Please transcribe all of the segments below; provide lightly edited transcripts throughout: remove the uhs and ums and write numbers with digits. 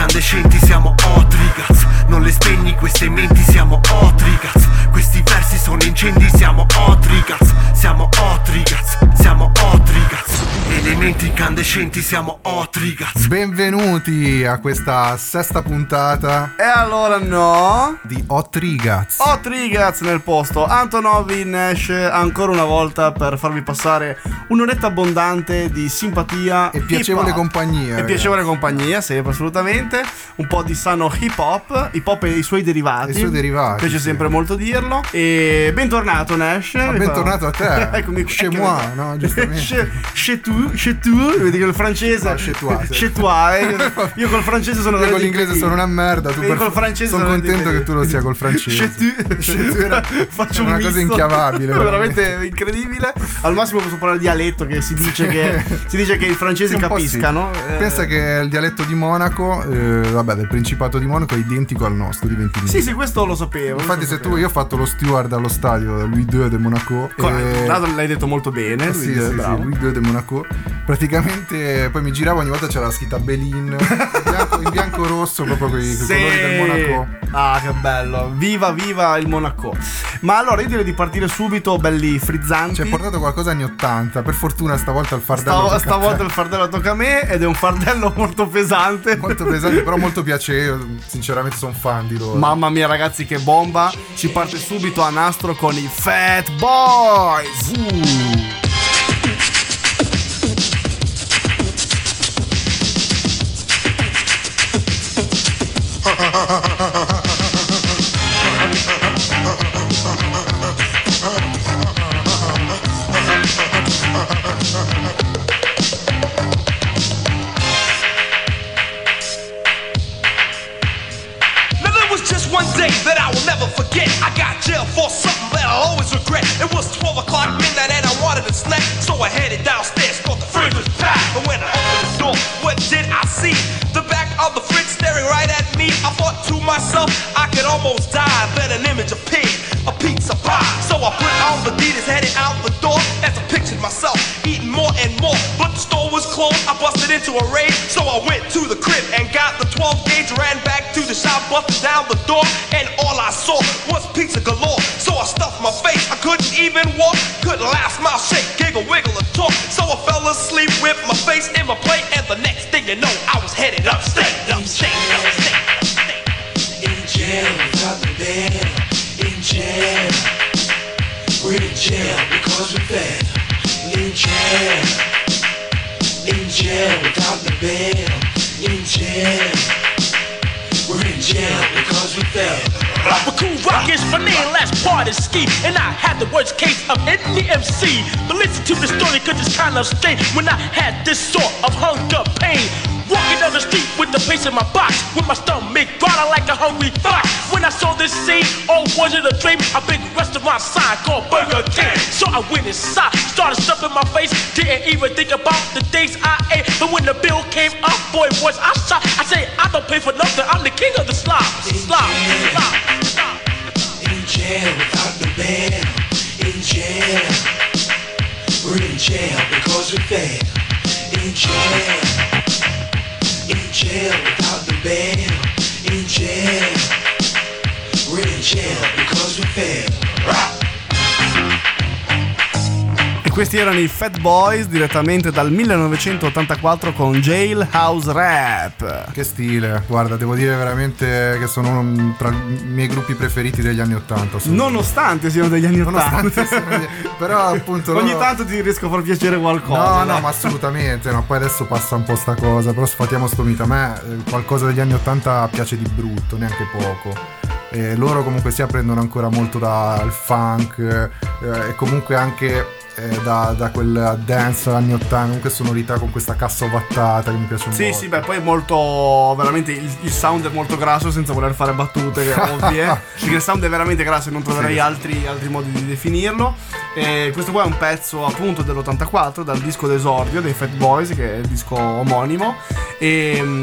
incandescenti, siamo hot ragazzi. Non le spegni queste menti, siamo hot ragazzi. Questi versi sono incendi, siamo hot ragazzi. Siamo hot ragazzi, siamo hot ragazzi. Elementi incandescenti, siamo hot ragazzi. Benvenuti a questa sesta puntata. E allora no di Hot Ragazzi. Hot Ragazzi nel posto. Antonovi Nash ancora una volta per farvi passare un'oretta abbondante di simpatia e piacevole compagnia. E piacevole compagnia, sì, assolutamente. Un po' di sano hip hop e i suoi derivati. Piace sempre molto dirlo. E bentornato Nash. Bentornato a te. Eccomi chez moi, no? Giustamente. Chez tu, vedi che il francese. No, chez toi. Chez toi. Io col francese sono. Io con l'inglese sono una merda. Tu col francese sono contento che tu lo sia col francese. Chez tu. Faccio una cosa inchiavabile. Veramente incredibile. Al massimo posso parlare dialetto, che si dice che i francesi capiscano. Sì. Pensa che il dialetto di Monaco, del Principato di Monaco, è identico al nostro di Ventimiglia. Sì, questo lo sapevo. Infatti, io ho fatto lo steward allo stadio Louis II de Monaco. L'hai detto molto bene. Louis II de Monaco. Praticamente poi mi giravo, ogni volta c'era la scritta Belin in bianco rosso, proprio con i colori del Monaco. Ah, che bello. Viva il Monaco. Ma allora io direi di partire subito, belli frizzanti. Ci hai portato qualcosa anni 80. Per fortuna stavolta il fardello stavolta il fardello tocca a me, ed è un fardello molto pesante. Molto pesante, però molto piacevole. Sinceramente sono fan di loro. Mamma mia ragazzi, che bomba. Si parte subito a nastro con i Fat Boys. One day that I will never forget. I got jail for something that I'll always regret. It was 12 o'clock midnight and I wanted a snack, so I headed downstairs, thought the fridge was packed. And when I opened the door, what did I see? The back of the fridge staring right at me. I thought to myself, I could almost die. Then an image appeared, a pizza pie. So I put on the Adidas, headed out the door, as I pictured myself eating more and more. But the store was closed, I busted into a rage. So I went to the crib and got the 12 gauge, ran back to the shop, busted down the door, and all I saw was pizza galore. So I stuffed my face, I couldn't even walk, couldn't laugh, smile, shake, giggle, wiggle, or talk. So I fell asleep with my face in my plate, and the next thing you know, I was headed upstate. In jail without the bed. In jail, we're in jail because we're fed. In jail without the bed. In jail, we're in jail because we're fed. But Cool Rock is my name, last part is ski. And I had the worst case of any MC. But listen to the story, cause it's kind of strange. When I had this sort of hunger pain, walking down the street with the pace in my box, with my stomach growling like a hungry fox. When I saw this scene, oh, was it a dream? A big restaurant sign called Burger King. So I went inside, started stuffing my face, didn't even think about the things I ate. But when the bill came up, boy, was I shocked. I said, I don't pay for nothing, I'm the king of the slop. In jail without the bed. In jail, we're in jail because we're fed. In jail without the bed. In jail, we're in jail because we're fed. Questi erano i Fat Boys direttamente dal 1984 con Jailhouse Rap. Che stile, guarda, devo dire veramente che sono tra i miei gruppi preferiti degli anni 80. Nonostante siano degli anni 80. Però appunto ogni tanto ti riesco a far piacere qualcosa. No, ma assolutamente, no, poi adesso passa un po' sta cosa, però sfatiamo sto mito. A me qualcosa degli anni 80 piace di brutto, neanche poco. E loro comunque sia prendono ancora molto dal funk e comunque anche da quel dance anni 80, comunque sonorità con questa cassa ovattata che mi piace un po'. Sì, beh, poi è molto, veramente il sound è molto grasso, senza voler fare battute ovvie, perché il sound è veramente grasso e non troverei altri modi di definirlo. E questo qua è un pezzo appunto dell'84, dal disco d'esordio dei Fat Boys, che è il disco omonimo, e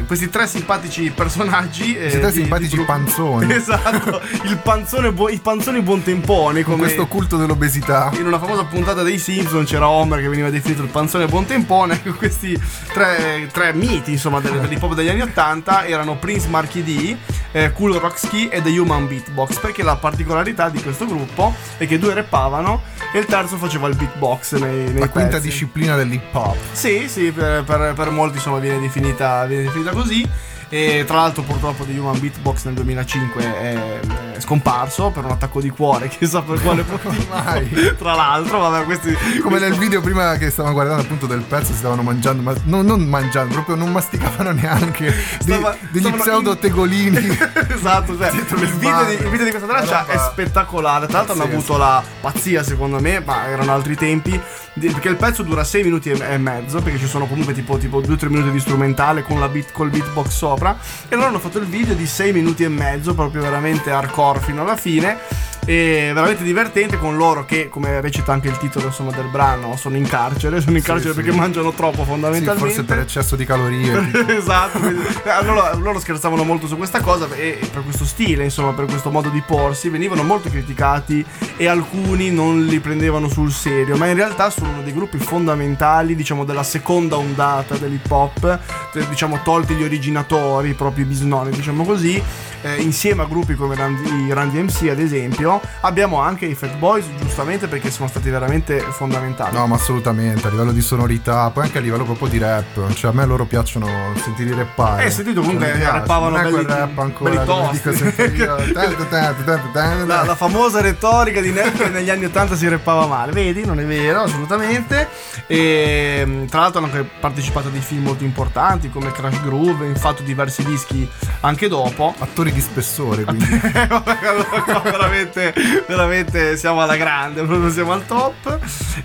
questi tre simpatici personaggi. Questi tre simpatici panzoni. Esatto, i panzoni buontemponi. Con questo culto dell'obesità. In una famosa puntata dei Simpson c'era Homer che veniva definito il panzone buontempone. Questi tre miti, insomma, dell'hip hop degli anni 80 erano Prince Marky D, Cool Rock Ski e The Human Beatbox, perché la particolarità di questo gruppo è che due rappavano e il terzo faceva il beatbox nei la quinta pezzi. disciplina dell'hip hop. Sì, per molti insomma viene definita così. E tra l'altro purtroppo The Human Beatbox nel 2005 è scomparso per un attacco di cuore, chissà per quale motivo. Tra l'altro, vabbè, questi come nel video prima che stavamo guardando appunto del pezzo, si stavano mangiando, ma non mangiando, proprio non masticavano neanche degli pseudo tegolini. Esatto, cioè il video di questa traccia è spettacolare. Tra l'altro hanno avuto la pazzia, secondo me, ma erano altri tempi, perché il pezzo dura 6 minuti e mezzo, perché ci sono comunque tipo 2-3 minuti di strumentale con col beatbox sopra, e loro hanno fatto il video di 6 minuti e mezzo, proprio veramente hardcore fino alla fine, e veramente divertente, con loro che, come recita anche il titolo insomma del brano, sono in carcere perché mangiano troppo, fondamentalmente. Sì, forse per eccesso di calorie. Esatto. Loro scherzavano molto su questa cosa, e per questo stile, insomma, per questo modo di porsi venivano molto criticati, e alcuni non li prendevano sul serio, ma in realtà sono uno dei gruppi fondamentali, diciamo, della seconda ondata dell'hip hop, diciamo, tolti gli originatori, proprio i bisnonni, diciamo così. Insieme a gruppi come i Run DMC ad esempio, abbiamo anche i Fat Boys, giustamente, perché sono stati veramente fondamentali. No, ma assolutamente, a livello di sonorità, poi anche a livello proprio di rap, cioè a me loro piacciono sentire rappare. Sentito comunque rappavano non è belli, quel rap ancora, belli tosti. La famosa retorica di Ned che negli anni 80 si rappava male, vedi? Non è vero, assolutamente. E tra l'altro hanno anche partecipato a dei film molto importanti come Crash Groove, infatti diversi dischi anche dopo. Attori di spessore, quindi veramente siamo alla grande, proprio siamo al top.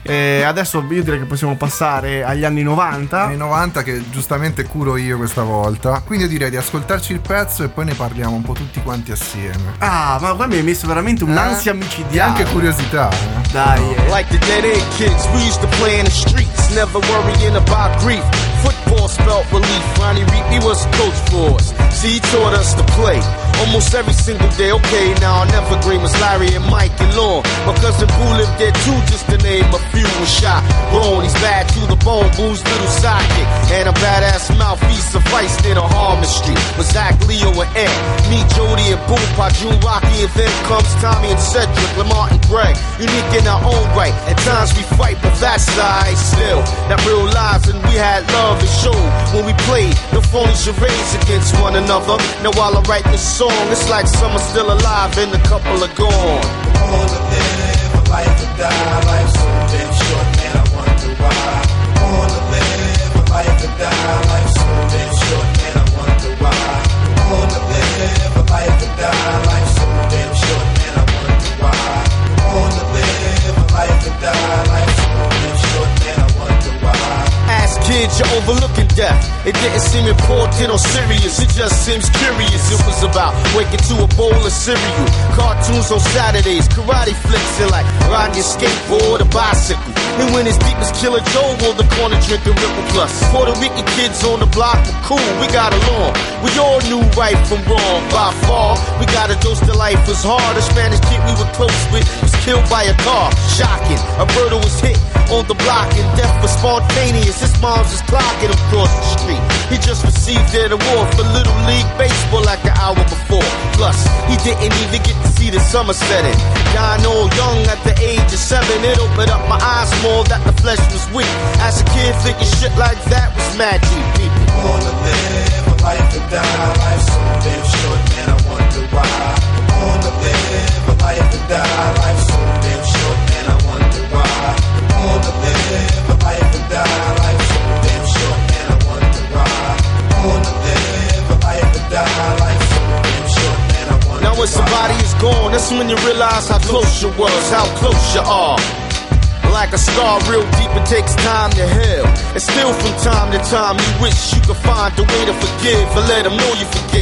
E adesso io direi che possiamo passare agli anni 90. Anni 90 che giustamente curo io questa volta, quindi io direi di ascoltarci il pezzo e poi ne parliamo un po' tutti quanti assieme. Ah, ma qua mi hai messo veramente un'ansia micidiale. E anche curiosità, Dai. Like the dead end kids, we used to play in the streets, never worrying about grief. Football spelt relief. Ronnie Reed, was coach for us. See, he taught us to play almost every single day. Okay, now I'll never agree with Larry and Mike and Lon. My cousin Boo lived there too, just to name a few. Was shot, grown, he's bad to the bone. Boo's little sidekick and a badass mouth. He sufficed in a Harmon Street with Zach, Leo, and Ed. Me, Jody, and Boo, Pa, June, Rocky, and then comes Tommy and Cedric, Lamar and Greg. Unique in our own right. At times we fight, but that's lies still. That real lives, and we had love and show when we played. No phony charades against one another. Now while I write this song, it's like some are still alive and a couple are gone. I wanna live a life or die. Life's so damn short, man, I wonder why. I wanna live a life or die. Life's so damn short, man, I wonder why. I wanna live a life or die. Life's so damn short, man, I wonder why. I wanna live a life or die. Life's so damn short, man, I wonder why. As kids, you're overlooking death. It didn't seem important or serious, it just seems curious. It was about waking to a bowl of cereal, cartoons on Saturdays, karate flicks, and like riding your skateboard or bicycle. And when his deep as Killer Joe on the corner drinking Ripple Plus. Puerto Rican kids on the block were cool, we got along. We all knew right from wrong by far. We got a dose to life was hard. A Spanish kid we were close with was killed by a car. Shocking, a birder was hit on the block and death was spontaneous. His mom's just clocking him across the street. He just received an award for Little League Baseball like an hour before. Plus, he didn't even get to see the summer setting. Dying all young at the age of 7, it opened up my eyes more that the flesh was weak. As a kid, thinking shit like that was mad deep, people. I wanna live a life or die. Life's so damn short, man, I wonder why. I wanna live a life or die. Life's so damn short, man, I wonder why. I wanna live a life or die. Life's so damn short, man, I wonder why. I wanna live a life or die. Life's so damn short, man, I wonder why. Now when somebody is gone, that's when you realize how close you was, how close you are. Like a scar real deep, it takes time to heal. And still from time to time you wish you could find a way to forgive and let them know you forgave.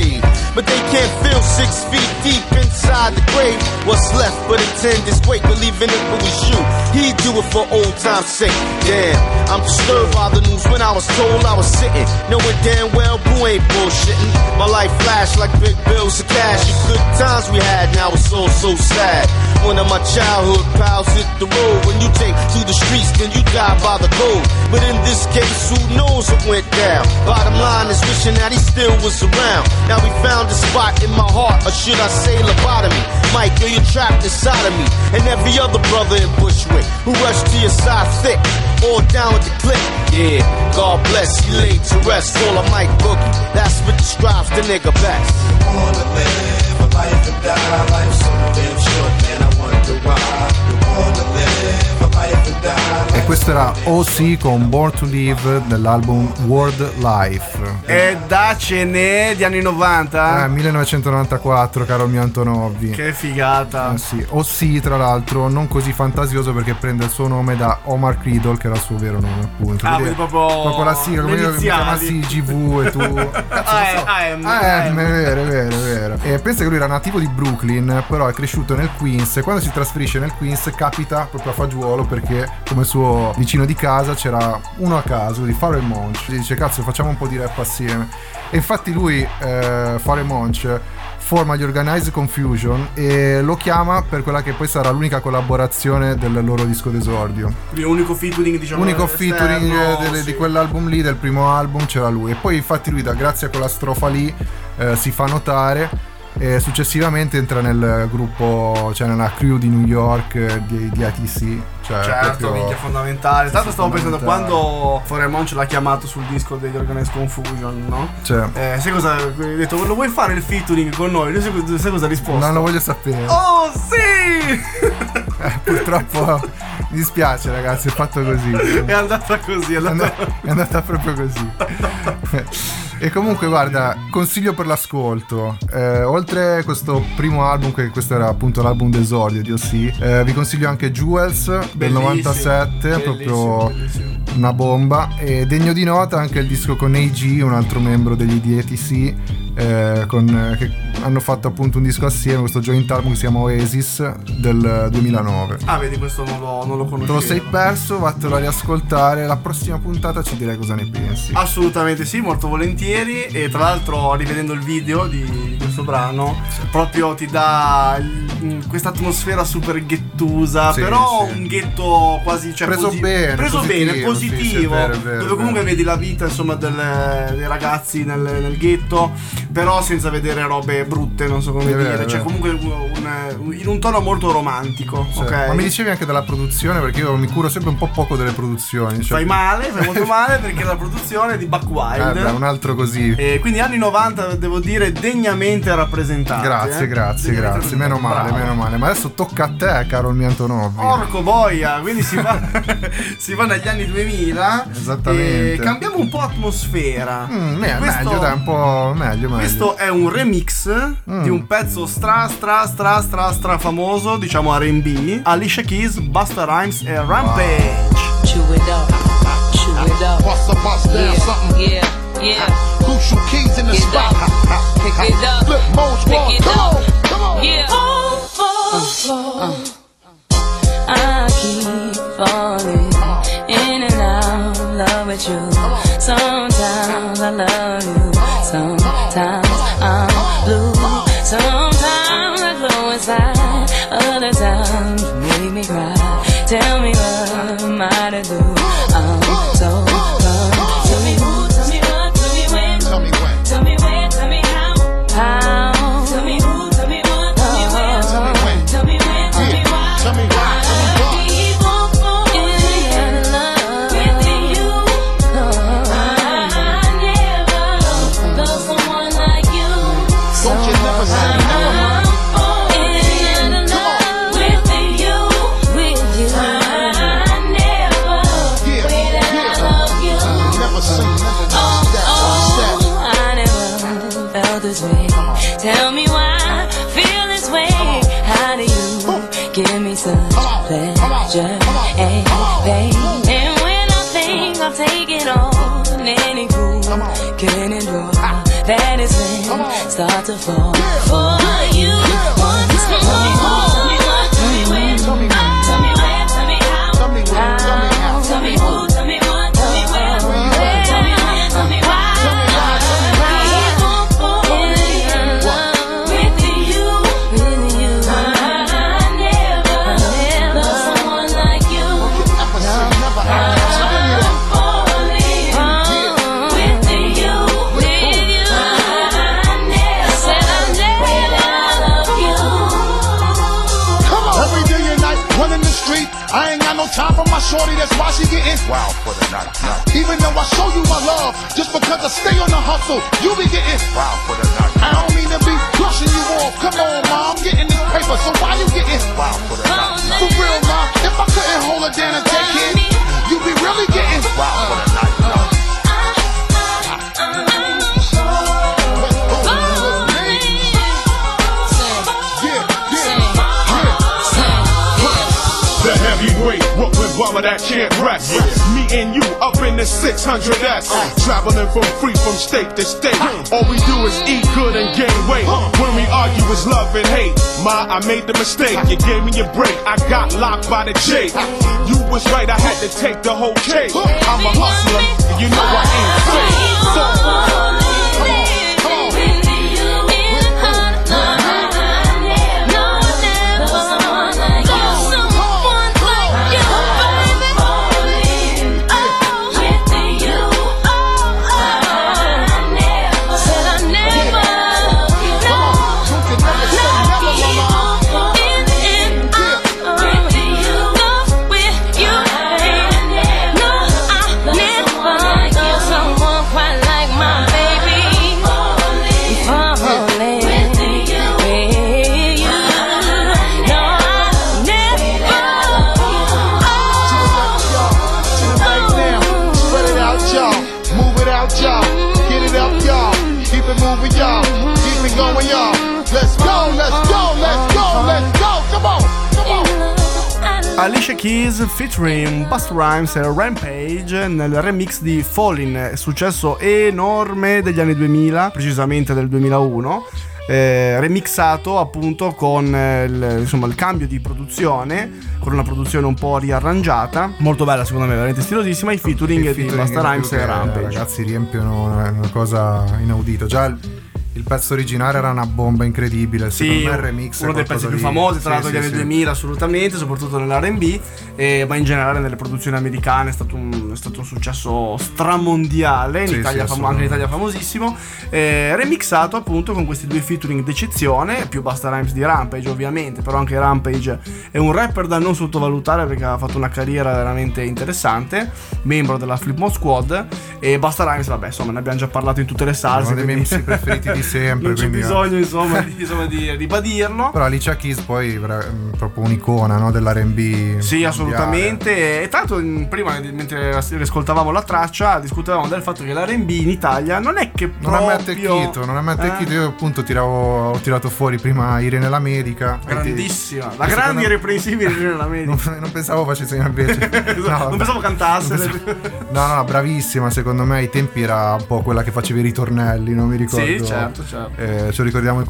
but they can't feel 6 feet deep inside the grave. What's left but attend this wake, believing if it was you, he'd do it for old time's sake. Damn, I'm disturbed by the news when I was told I was sitting, knowing damn well Boo ain't bullshitting. My life flashed like big bills of cash. The good times we had, now it's all so sad. One of my childhood pals hit the road. When you take to the streets, then you die by the code. But in this case, who knows what went down? Bottom line is wishing that he still was around. Now we found a spot in my heart, or should I say lobotomy? Mike, you're trapped inside of me, and every other brother in Bushwick who rushed to your side thick, all down with the click. Yeah, God bless, he laid to rest. All of Mike Boogie, that's what describes the nigga best. I wanna live a life and die, life so damn short, man, I wonder why. I wanna live a life and die. E questo era O.C. con Born to Live dell'album World Life. E dacene di anni 90. 1994, caro mio Antonovi. Che figata. Sì, O.C. tra l'altro non così fantasioso perché prende il suo nome da Omar Creedle, che era il suo vero nome, appunto. Quindi proprio la sigla, come io mi chiamassi GV e tu. È vero. E pensa che lui era nativo di Brooklyn, però è cresciuto nel Queens, e quando si trasferisce nel Queens capita proprio a fagiolo perché come suo vicino di casa c'era uno a caso di Pharrell Monch. Gli dice cazzo, facciamo un po' di rap assieme, e infatti lui Pharrell Monch forma gli Organized Confusion e lo chiama per quella che poi sarà l'unica collaborazione del loro disco d'esordio. L'unico featuring, diciamo, l'unico featuring di quell'album lì, del primo album, c'era lui. E poi infatti lui, grazie a quella strofa lì, si fa notare, e successivamente entra nel gruppo, cioè nella crew di New York di ITC. Cioè, certo, minchia, fondamentale. Tanto stavo pensando quando Pharrell Monch l'ha chiamato sul disco degli Organized Confusion, no? Cioè. Sai cosa? Ha detto, lo vuoi fare il featuring con noi? Lui sai cosa ha risposto? Non lo voglio sapere. Oh sì! Purtroppo mi dispiace, ragazzi, è fatto così. È andata così, è andata proprio così. E comunque guarda, consiglio per l'ascolto, oltre questo primo album, che questo era appunto l'album d'esordio di O.C., vi consiglio anche Jewels del 97, proprio una bomba. E degno di nota anche il disco con A.G., un altro membro degli DTC, che hanno fatto appunto un disco assieme, questo joint album che si chiama Oasis del 2009. Ah, vedi, questo non lo conoscevo. Te lo sei perso, vattelo a riascoltare. La prossima puntata ci direi cosa ne pensi. Assolutamente sì, molto volentieri. E tra l'altro, rivedendo il video di questo brano, proprio ti dà questa atmosfera super ghettusa, sì, però sì, un ghetto quasi, cioè, preso bene, positivo, sì, vero, dove comunque vedi la vita, insomma, dei ragazzi nel ghetto, però senza vedere robe brutte, non so come dire, cioè comunque in un tono molto romantico, sì, ok? Ma mi dicevi anche della produzione, perché io mi curo sempre un po' poco delle produzioni, cioè... fai molto male, perché la produzione è di Buck Wild, un altro così, e quindi anni 90 devo dire degnamente rappresentati. Grazie, meno male. Ma adesso tocca a te, caro il mio Antonovi. Porco boia, quindi si va negli anni 2000. Esattamente. E cambiamo un po' atmosfera. Meglio, dai, un po' meglio. Questo è un remix di un pezzo stra famoso, diciamo R&B, Alicia Keys, Busta Rhymes e Rampage. Chew it up. Bust down something. Yeah. Crucial keys in the spot. Pick it up. Flip modes, Pick it up. Come on. Yeah. I keep falling in and out of love with you. Sometimes I love you. Sometimes I'm blue. Sometimes I glow inside. Other times you make me cry. Tell me what am I to do? I'm so confused. Tell me who, tell me what, tell me when. Tell me when. Tell me where, tell me how. Tell me who, tell me what, tell me when. Tell me when. Tell me when, tell me why. Tell me why. Keep on falling in love with you. I never loved someone like you. Don't you never say never. Tell me why I feel this way. How do you give me such pleasure and pain? And when I think I've taken all any groove can endure, panties then start to fall. For you, one piece of money. Tell me what, tell me when, tell me where, tell me how, tell me who, tell me what, tell me where, tell me when, tell me why. I ain't got no time for my shorty, that's why she getting wild for the night. Even though I show you my love, just because I stay on the hustle, you be getting wild for the night. I don't mean to be brushing you off. Come on, ma, I'm getting this paper, so why you getting wild for the night? For real, ma, if I couldn't hold her down and take it, you be really getting wild for the night. Heavyweight, Brooklyn brother that can't rest. Me and you up in the 600S, traveling from state to state. All we do is eat good and gain weight. When we argue it's love and hate. Ma, I made the mistake. You gave me a break. I got locked by the J. You was right. I had to take the whole cake. I'm a hustler. You know I ain't fake. Alicia Keys featuring Busta Rhymes e Rampage nel remix di Fallin', successo enorme degli anni 2000, precisamente del 2001, remixato appunto con il cambio di produzione, con una produzione un po' riarrangiata, molto bella secondo me, veramente stilosissima. I featuring di Busta Rhymes e Rampage, ragazzi, riempiono una cosa inaudita. Già il pezzo originale era una bomba incredibile. Sì, secondo me il remix uno dei pezzi più famosi tra l'altro degli anni 2000 assolutamente, soprattutto nell'R&B, ma in generale nelle produzioni americane è stato un successo stramondiale, in Italia anche in Italia famosissimo, remixato appunto con questi due featuring d'eccezione, più Busta Rhymes di Rampage ovviamente, però anche Rampage è un rapper da non sottovalutare perché ha fatto una carriera veramente interessante, membro della Flipmode Squad, e Busta Rhymes vabbè insomma ne abbiamo già parlato in tutte le salse, uno dei miei MC preferiti di sempre, non c'è bisogno insomma di ribadirlo. Però Alicia Keys poi proprio un'icona, no, dell'R&B. Sì, assolutamente. E tanto prima mentre ascoltavamo la traccia discutevamo del fatto che l'R&B in Italia non è che non è mai attecchito. Io appunto ho tirato fuori prima Irene l'America, grandissima, la grande irreprensibile Irene l'America. Non pensavo facesse invece non pensavo cantasse. No, bravissima, secondo me ai tempi era un po' quella che faceva i ritornelli, non mi ricordo. Sì, certo. Ce lo ricordiamo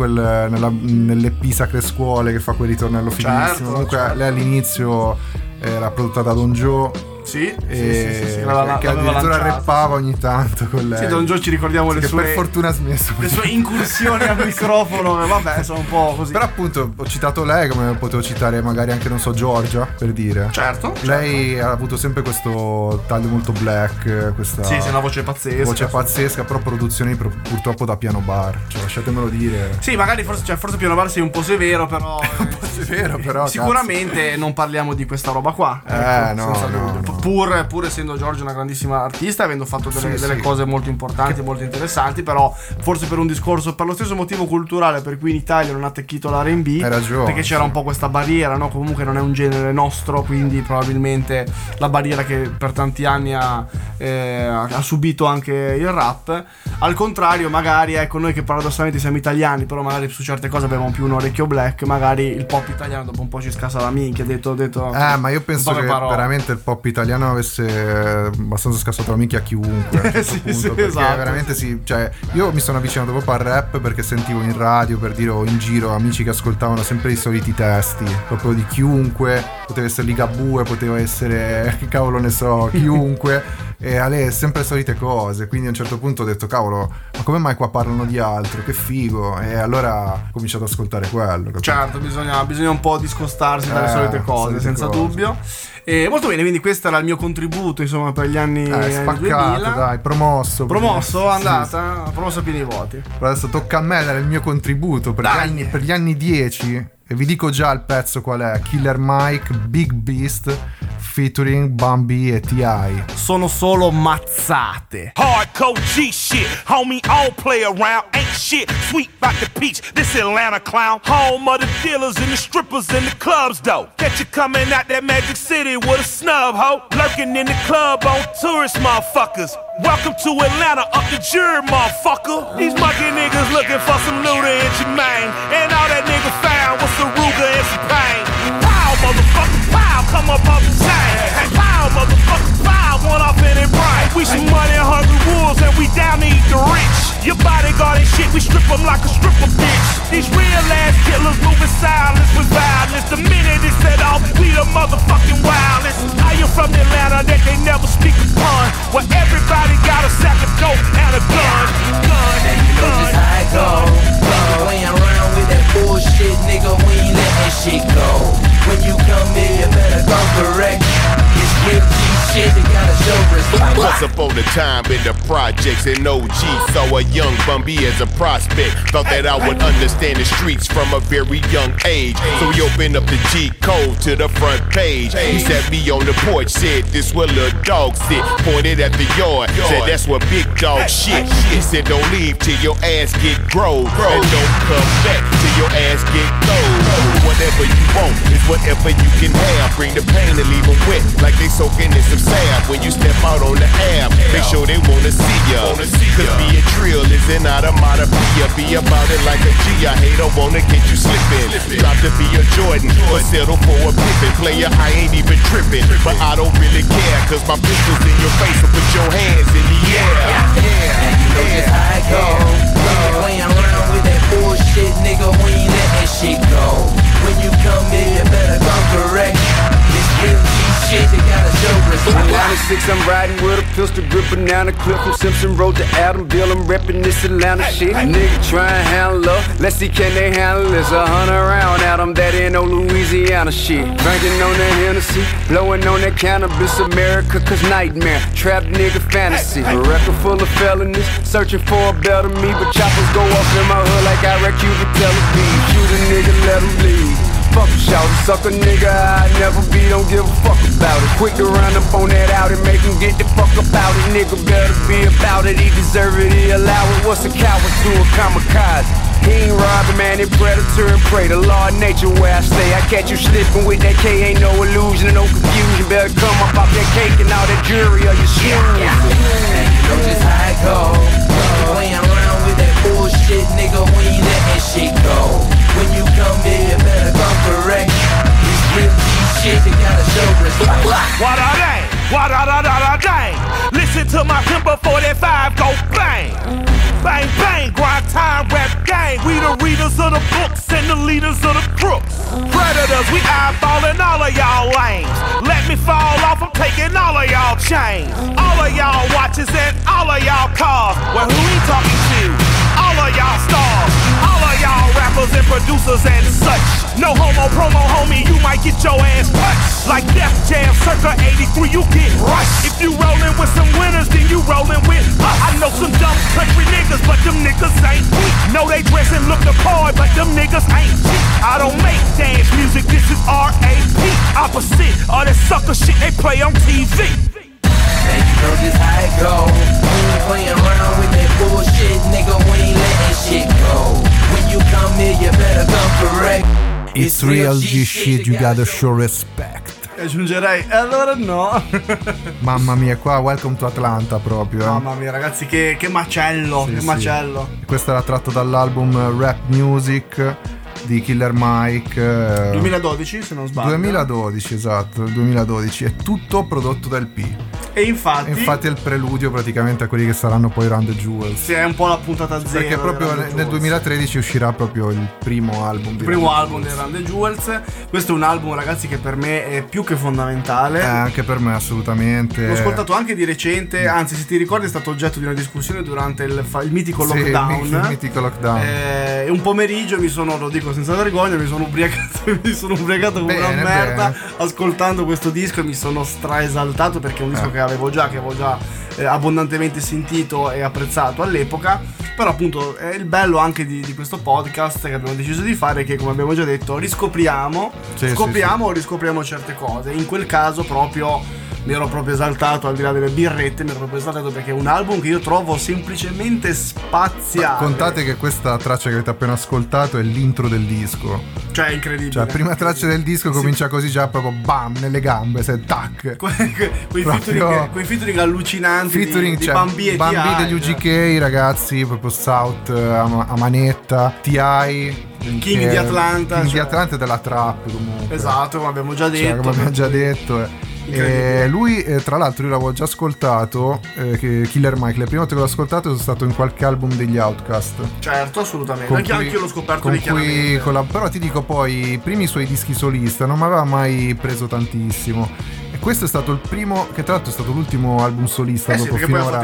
nell'EP Sacre Scuole che fa quel ritornello fighissimo. Comunque lei all'inizio era prodotta da Don Joe. Sì, che addirittura rappava ogni tanto con lei. Sì, Don Joe ci ricordiamo le sue, per fortuna ha smesso, le sue incursioni al microfono, vabbè, sono un po' così. Però appunto ho citato lei, come potevo citare magari anche, non so, Giorgia, per dire. Certo. Lei ha avuto sempre questo taglio molto black, questa sì, una voce pazzesca, però produzioni purtroppo da piano bar, cioè lasciatemelo dire. Sì, magari forse piano bar sei un po' severo, però un po' severo, però sicuramente cazzo. Non parliamo di questa roba qua. No. Pur essendo Giorgio una grandissima artista, avendo fatto delle cose molto importanti, molto interessanti, però forse per un discorso, per lo stesso motivo culturale per cui in Italia non ha attecchito l'R&B, perché c'era un po' questa barriera, no? Comunque non è un genere nostro, quindi probabilmente la barriera che per tanti anni ha subito anche il rap. Al contrario, magari ecco, noi che paradossalmente siamo italiani, però magari su certe cose abbiamo più un orecchio black, magari il pop italiano dopo un po' ci scassa la minchia, detto ma io penso che veramente il pop italiano italiano avesse abbastanza scassato la minchia a chiunque a Sì, punto, sì, perché esatto. veramente sì, cioè io mi sono avvicinato proprio al rap perché sentivo in radio, per dire, o in giro amici che ascoltavano sempre i soliti testi proprio di chiunque, poteva essere Ligabue, poteva essere che cavolo ne so, chiunque, e Ale sempre le solite cose, quindi a un certo punto ho detto cavolo, ma come mai qua parlano di altro, che figo, e allora ho cominciato ad ascoltare quello, capito? Certo, bisogna un po' discostarsi dalle solite cose, solite senza cose. dubbio. E molto bene, quindi questo era il mio contributo, insomma, per gli anni Spaccato, 2000. dai, promosso, Promosso, Sì, andata, promosso a pieni voti. Adesso tocca a me dare il mio contributo per gli anni 10 e vi dico già il pezzo qual è: Killer Mike, Big Beast featuring Bambi e T.I. Sono solo mazzate. Hardcore G shit, homie, I don't play around, ain't shit, sweet like the peach, this Atlanta clown, home of the dealers and the strippers and the clubs though, catch you coming out that Magic City with a snub hoe, lurking in the club on tourist motherfuckers, welcome to Atlanta, up the jury motherfucker, these monkey niggas looking for some Luda and Jermaine, and all that nigga found was some Ruger and some pain, pow motherfucker, pow, come up off the chain, pow motherfucker, pow, one off in it brain, we some money hungry wolves and we down to eat the rich, your bodyguard and shit, we strip them like a stripper bitch, these real ass killers moving silence with violence, the minute it's set off, we the motherfucking wildest, I am from Atlanta that they never speak upon, where everybody got a sack of dope and a gun, And you know just how it go. Playing around with that bullshit, nigga, we ain't letting shit go. When you come in, you better go correct. It's real G shit, you gotta show respect. Once upon a time in the projects in OG, saw a young Bumby as a prospect. Thought that I would understand the streets from a very young age. So he opened up the G code to the front page. He sat me on the porch, said this where little dog sit. Pointed at the yard, said that's where big dog shit. He said don't leave till your ass get grown, and don't come back till your ass get cold. Whatever you want is whatever you can have. Bring the pain and leave them wet like they soaking in some salve. When you step out on the app, make sure they wanna see ya. Cause being trill is an automatopoeia. Be about it like a G. I hate, I wanna get you slipping. Drop to be a Jordan, but settle for a Pippin. Player, I ain't even tripping, but I don't really care. Cause my pistol's in your face, so put your hands in the air. And you know just how it go. Playing around with that bullshit, nigga, we ain't letting shit go. When you come in, you better come correct. It's real G shit, you gotta show respect. 96, I'm riding with a pistol grip, banana clip from Simpson Road to Adamville. I'm reppin' this Atlanta shit. Nigga try and handle up, let's see can they handle this. 100 round at 'em, that ain't no Louisiana shit. Drinking on that Hennessy, blowing on that cannabis. America, cause nightmare, trap nigga fantasy. A record full of felonies, searching for a better me. But choppers go off in my hood like I wreck you to Tel Aviv. Shoot a nigga, let him leave. Fuck a shout, suck a nigga, I never be, don't give a fuck about it. Quick to run up on that out and make him get the fuck about it. Nigga better be about it, he deserve it, he allow it. What's a coward to a kamikaze? He ain't robbing, man, he predator and prey. The law of nature where I stay. I catch you slipping with that K, ain't no illusion and no confusion. Better come up off that cake and all that jury of your shoes. And you know just how it go. Playing around with that bullshit, nigga, we ain't letting shit go. When you come in, you better come correct. It's real G shit, you gotta show respect. Wa-da-dang, wa-da-da-da-da-dang. Listen to my Timber 45 go bang. Bang, bang, grind time, rap gang. We the readers of the books and the leaders of the crooks. Predators, we eyeballing all of y'all lanes. Let me fall off, I'm taking all of y'all chains. All of y'all watches and all of y'all cars. Well, who we talking to? All of y'all stars. All of y'all rappers and producers and such. No homo promo, homie, you might get your ass touched. Like Def Jam, circa 83, you get rushed. If you rollin' with some winners, then you rollin' with us. I know some dumb country niggas, but them niggas ain't weak. Know they dress and look the part, but them niggas ain't cheap. I don't make dance music, this is R.A.P. Opposite of that sucker shit they play on TV. And you know just how it go. We ain't playing around with that bullshit, nigga, we ain't letting shit go. When you come here, you better come correct. It's real G shit, you gotta show respect. Aggiungerei, e allora no. Mamma mia, qua Welcome to Atlanta proprio. Mamma mia ragazzi, che macello, Sì, che sì. macello. Questo era tratto dall'album Rap Music di Killer Mike. 2012 se non sbaglio. 2012, esatto, 2012. È tutto prodotto dal P. E infatti è il preludio praticamente a quelli che saranno poi Run the Jewels. Sì, è un po' la puntata zero. Perché proprio nel 2013 uscirà proprio il primo album di Run the Jewels. Questo è un album, ragazzi, che per me è più che fondamentale. Anche per me, assolutamente. L'ho ascoltato anche di recente, anzi, se ti ricordi, è stato oggetto di una discussione durante il mitico lockdown. Il mitico lockdown. E un pomeriggio lo dico senza vergogna, mi sono ubriacato come una merda ascoltando questo disco e mi sono straesaltato perché è un disco che avevo già abbondantemente sentito e apprezzato all'epoca. Però appunto è il bello anche di questo podcast che abbiamo deciso di fare, che come abbiamo già detto riscopriamo certe cose. In quel caso proprio mi ero proprio esaltato, al di là delle birrette, mi ero proprio esaltato perché è un album che io trovo semplicemente spaziale. Contate che questa traccia che avete appena ascoltato è l'intro del disco. Cioè è incredibile. Cioè la prima traccia del disco comincia così, già proprio bam nelle gambe, se tac. Quei featuring allucinanti di Bambi e Bambi degli UGK, ragazzi, proprio South a manetta, T.I. King di Atlanta. King di Atlanta e della trap comunque. Esatto, come abbiamo già detto. Come abbiamo già detto. Lui tra l'altro io l'avevo già ascoltato, Killer Mike, le prime volte che l'ho ascoltato sono stato in qualche album degli Outkast. Certo, assolutamente, anche io l'ho scoperto lì chiaramente. Però ti dico, poi i primi suoi dischi solista non mi aveva mai preso tantissimo. E questo è stato il primo, che tra l'altro è stato l'ultimo album solista dopo finora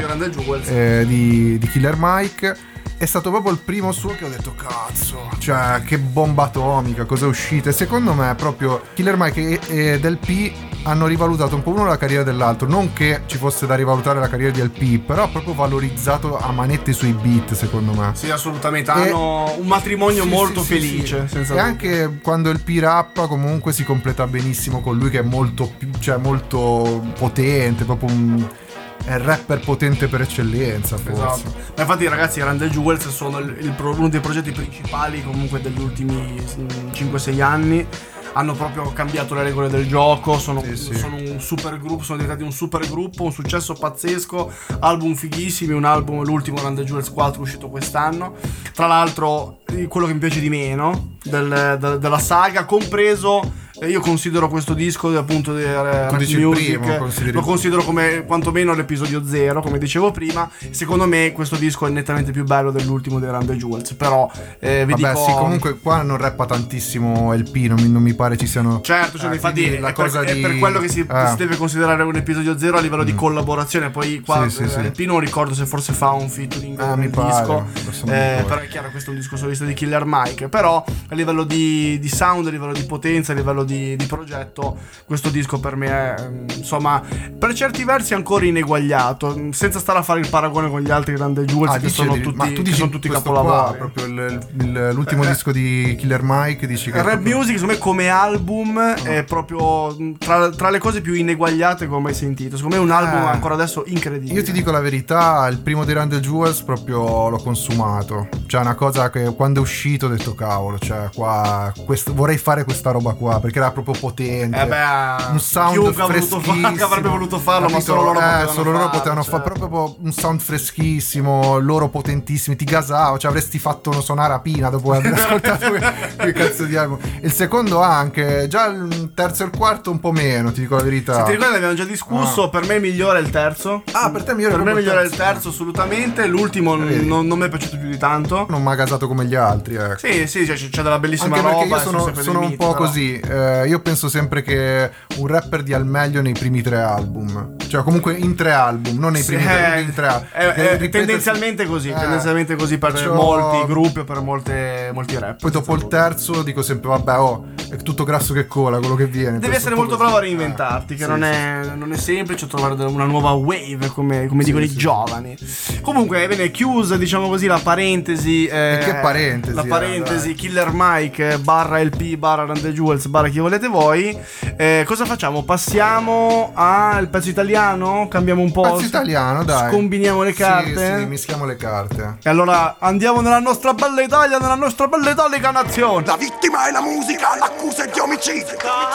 di Killer Mike. È stato proprio il primo suo che ho detto cazzo, cioè che bomba atomica, cosa è uscita. E secondo me proprio Killer Mike e Del P hanno rivalutato un po' uno la carriera dell'altro. Non che ci fosse da rivalutare la carriera di Del P, però ha proprio valorizzato a manette sui beat, secondo me. Sì, assolutamente, hanno un matrimonio molto felice. Senza e anche quando il P rappa comunque si completa benissimo con lui, che è molto più, cioè molto potente, proprio è il rapper potente per eccellenza, forse. Esatto. Ma infatti, ragazzi, Run the Jewels sono uno dei progetti principali comunque degli ultimi 5-6 anni. Hanno proprio cambiato le regole del gioco, sono un super gruppo, sono diventati un super gruppo, un successo pazzesco, album fighissimi, l'ultimo Run the Jewels 4 uscito quest'anno. Tra l'altro quello che mi piace di meno della saga, compreso, io considero questo disco appunto di Rap Music, lo considero come quantomeno l'episodio 0, come dicevo prima. Secondo me questo disco è nettamente più bello dell'ultimo dei Run the Jewels, però sì, comunque qua non rappa tantissimo LP, non mi pare ci siano. Certo, cioè, infatti è per quello che si deve considerare un episodio 0 a livello di collaborazione. Poi qua LP non ricordo se forse fa un featuring nel disco, però è chiaro, questo è un disco solista di Killer Mike. Però a livello di sound, a livello di potenza, a livello di progetto, questo disco per me è, insomma, per certi versi ancora ineguagliato, senza stare a fare il paragone con gli altri Run the Jewels che sono tutti capolavori. Proprio l'ultimo disco di Killer Mike, dici che Rap Music, secondo me, come album è proprio tra le cose più ineguagliate che ho mai sentito. Secondo me è un album ancora adesso incredibile. Io ti dico la verità, il primo dei Run the Jewels proprio l'ho consumato. Cioè una cosa che quando è uscito ho detto cavolo, cioè qua vorrei fare questa roba qua, perché era proprio potente, un sound freschissimo, che avrebbe voluto farlo, ma solo loro potevano fare proprio un sound freschissimo, loro potentissimi, ti gasavo, cioè avresti fatto suonare a Pina dopo aver ascoltato quel cazzo di album. Il secondo anche, già il terzo e il quarto un po' meno, ti dico la verità. Se ti ricordi abbiamo già discusso, per me migliore è il terzo. Per te migliore? Per me migliore è il terzo, assolutamente. L'ultimo non mi è piaciuto più di tanto. Non mi ha gasato come gli altri, ecco. Sì, c'è della bellissima anche roba. Io sono un po' così. Io penso sempre che un rapper dia il meglio nei primi 3 album. Cioè comunque in 3 album, non nei primi 3 album. Tendenzialmente così. Tendenzialmente così per molti gruppi o per molti rap. Poi dopo il terzo dico sempre vabbè, è tutto grasso che cola quello che viene. Devi essere molto bravo a reinventarti, che non è semplice trovare una nuova wave, come dicono i giovani. Comunque, bene, chiusa, diciamo così, la parentesi. Che parentesi? La parentesi Killer Mike barra LP barra Run the Jewels barra chi volete voi. Cosa facciamo? Passiamo al pezzo italiano? Cambiamo un po'? Pezzo italiano, dai. Scombiniamo le carte? Sì, mischiamo le carte. E allora andiamo nella nostra bella Italia, nella nostra bella italica nazione. La vittima è la musica, l'accusa è di omicidio.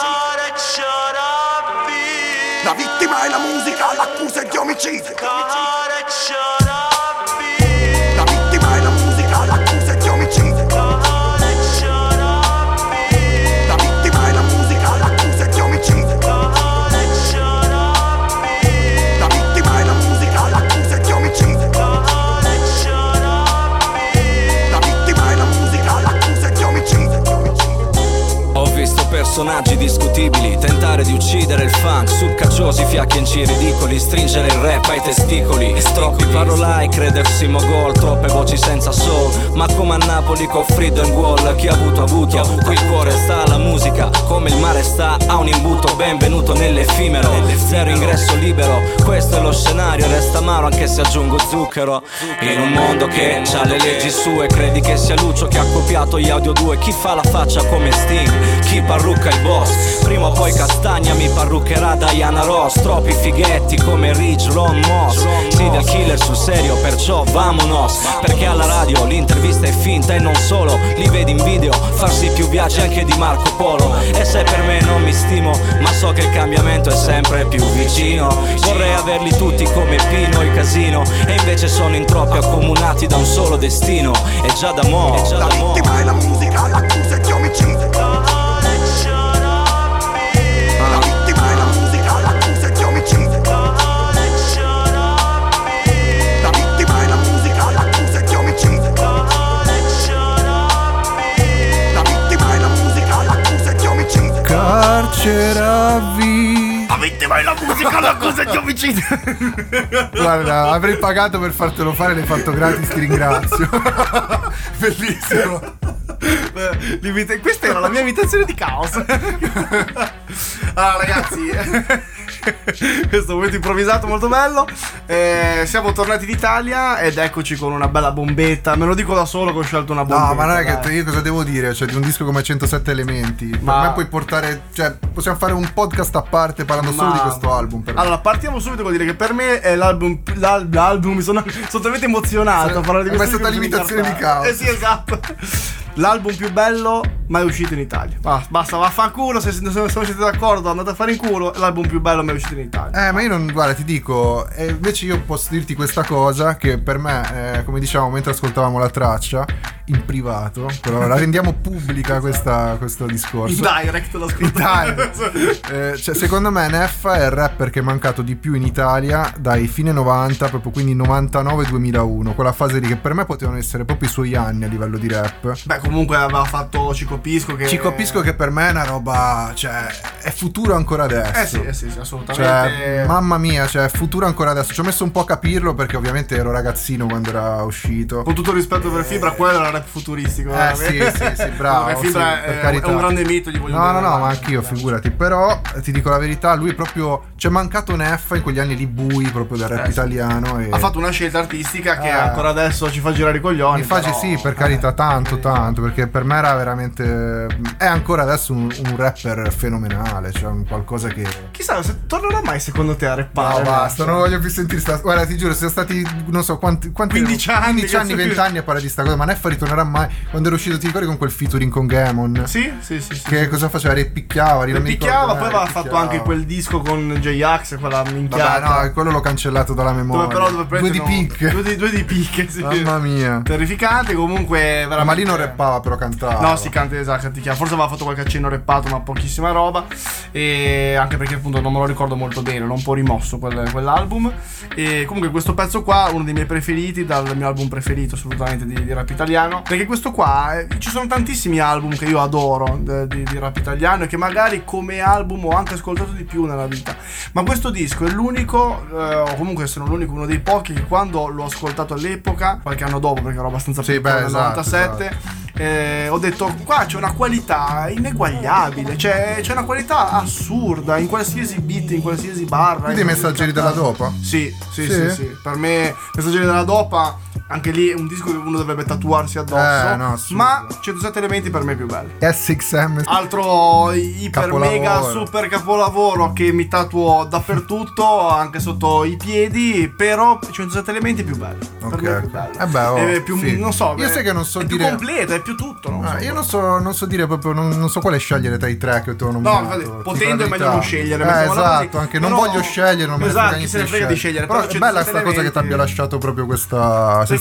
La vittima è la musica, l'accusa è di omicidio. La vittima è la musica, l'accusa è di omicidio. personaggi discutibili, tentare di uccidere il funk, succacciosi fiacchi in ridicoli, stringere il rap ai testicoli, troppi parolai, credersi mogol, troppe voci senza soul, ma come a Napoli con Freedom Wall, chi ha avuto, qui il cuore sta alla musica, come il mare sta a un imbuto, benvenuto nell'effimero, zero ingresso libero, questo è lo scenario, resta amaro anche se aggiungo zucchero, in un mondo che c'ha le leggi sue, credi che sia Lucio che ha copiato gli Audio 2, chi fa la faccia come Sting, chi parrucca il boss, prima o poi Castagna mi parruccherà Diana Ross, troppi fighetti come Rich, Ron Moss, serial killer sul serio, perciò vamonos, perché alla radio l'intervista è finta e non solo, li vedi in video farsi più viaggi anche di Marco Polo, e se per me non mi stimo, ma so che il cambiamento è sempre più vicino, vorrei averli tutti come Pino e Casino, e invece sono in troppi accomunati da un solo destino, e già da mo', la vittima è la musica, l'accusa è di omicidio. La vittima è la musica, l'accusa è di omicidio. La vittima è la musica, l'accusa è di omicidio. La vittima è la musica, l'accusa è di omicidio. Carceravi. La vittima è la musica, l'accusa è di omicidio. Guarda, avrei pagato per fartelo fare, l'hai fatto gratis, ti ringrazio. Bellissimo. Questa era la mia imitazione di Caos. Allora ragazzi, questo momento improvvisato molto bello, siamo tornati in Italia ed eccoci con una bella bombetta. Me lo dico da solo che ho scelto una bombetta. No, ma non è che io cosa devo dire? Cioè, di un disco come 107 elementi, per me puoi portare, cioè, possiamo fare un podcast a parte parlando solo di questo album. Allora, partiamo subito con dire che per me è l'album mi sono talmente emozionato a parlare di questo. Ma è stata l'imitazione di Caos. Sì, esatto. L'album più bello mai uscito in Italia. Basta, vaffanculo, se non siete d'accordo andate a fare in culo, l'album più bello mai uscito in Italia. Ma io non, guarda, ti dico, invece io posso dirti questa cosa che per me, come diciamo mentre ascoltavamo la traccia in privato, però la rendiamo pubblica questo discorso. In direct lo ascoltiamo. Cioè, secondo me Neffa è il rapper che è mancato di più in Italia dai fine 90, proprio quindi 99-2001, quella fase lì che per me potevano essere proprio i suoi anni a livello di rap. Beh, comunque aveva fatto Cico Pisco che per me è una roba, cioè, è futuro ancora adesso. Sì, assolutamente. Cioè, mamma mia, cioè, futuro ancora adesso. Ci ho messo un po' a capirlo perché ovviamente ero ragazzino quando era uscito. Con tutto il rispetto per Fibra, quello era rap futuristico. Sì, bravo. Fibra è un grande mito, gli voglio dire. No, ma anch'io, figurati. Però ti dico la verità, lui proprio c'è mancato Neffa in quegli anni lì bui proprio del rap italiano. E ha fatto una scelta artistica che ancora adesso ci fa girare i coglioni. Infatti sì, per carità, tanto, perché per me era veramente, è ancora adesso un rapper fenomenale, cioè un qualcosa che chissà se tornerà mai secondo te a rappare. No, basta, non voglio più sentire guarda, ti giuro, siamo stati non so quanti 15 anni, 20 anni a parlare di sta cosa, ma Neffa ritornerà mai. Quando era uscito, ti ricordi, con quel featuring con Gamon? Sì. Che cosa faceva? Ripicchiava, poi aveva fatto anche quel disco con J-Ax, quella minchiata. Vabbè, no, quello l'ho cancellato dalla memoria. Due di picche, sì. Mamma mia, terrificante. Comunque veramente. Ma lì non rappava, però cantava. No, si canta, esatto, forse aveva fatto qualche accenno rappato, ma pochissima roba. E anche perché appunto non me lo ricordo molto bene, l'ho un po' rimosso quell'album. E comunque questo pezzo qua, uno dei miei preferiti, dal mio album preferito assolutamente di rap italiano. Perché questo qua, ci sono tantissimi album che io adoro di rap italiano e che magari come album ho anche ascoltato di più nella vita. Ma questo disco è l'unico, o comunque se non l'unico, uno dei pochi che quando l'ho ascoltato all'epoca, qualche anno dopo, perché ero abbastanza piccolo nel 97, ho detto qua c'è una qualità ineguagliabile, c'è una qualità assurda in qualsiasi beat, in qualsiasi barra. Quindi Messaggeri della Dopa? Sì. Per me Messaggeri della Dopa, anche lì è un disco che uno dovrebbe tatuarsi addosso. No, ma 107 elementi per me è più bello. SXM, altro iper mega super capolavoro che mi tatuo dappertutto, anche sotto i piedi. Però 107 elementi è più bello. Per me è più bello. È più, non so, io sai che non so è dire, più completo, è più tutto. Io non so dire proprio, non so quale scegliere tra i tre che tu non potendo è meglio non scegliere. Esatto, anche non voglio scegliere, non mi frega di scegliere. Però è bella sta cosa che ti abbia lasciato proprio questa sensazione.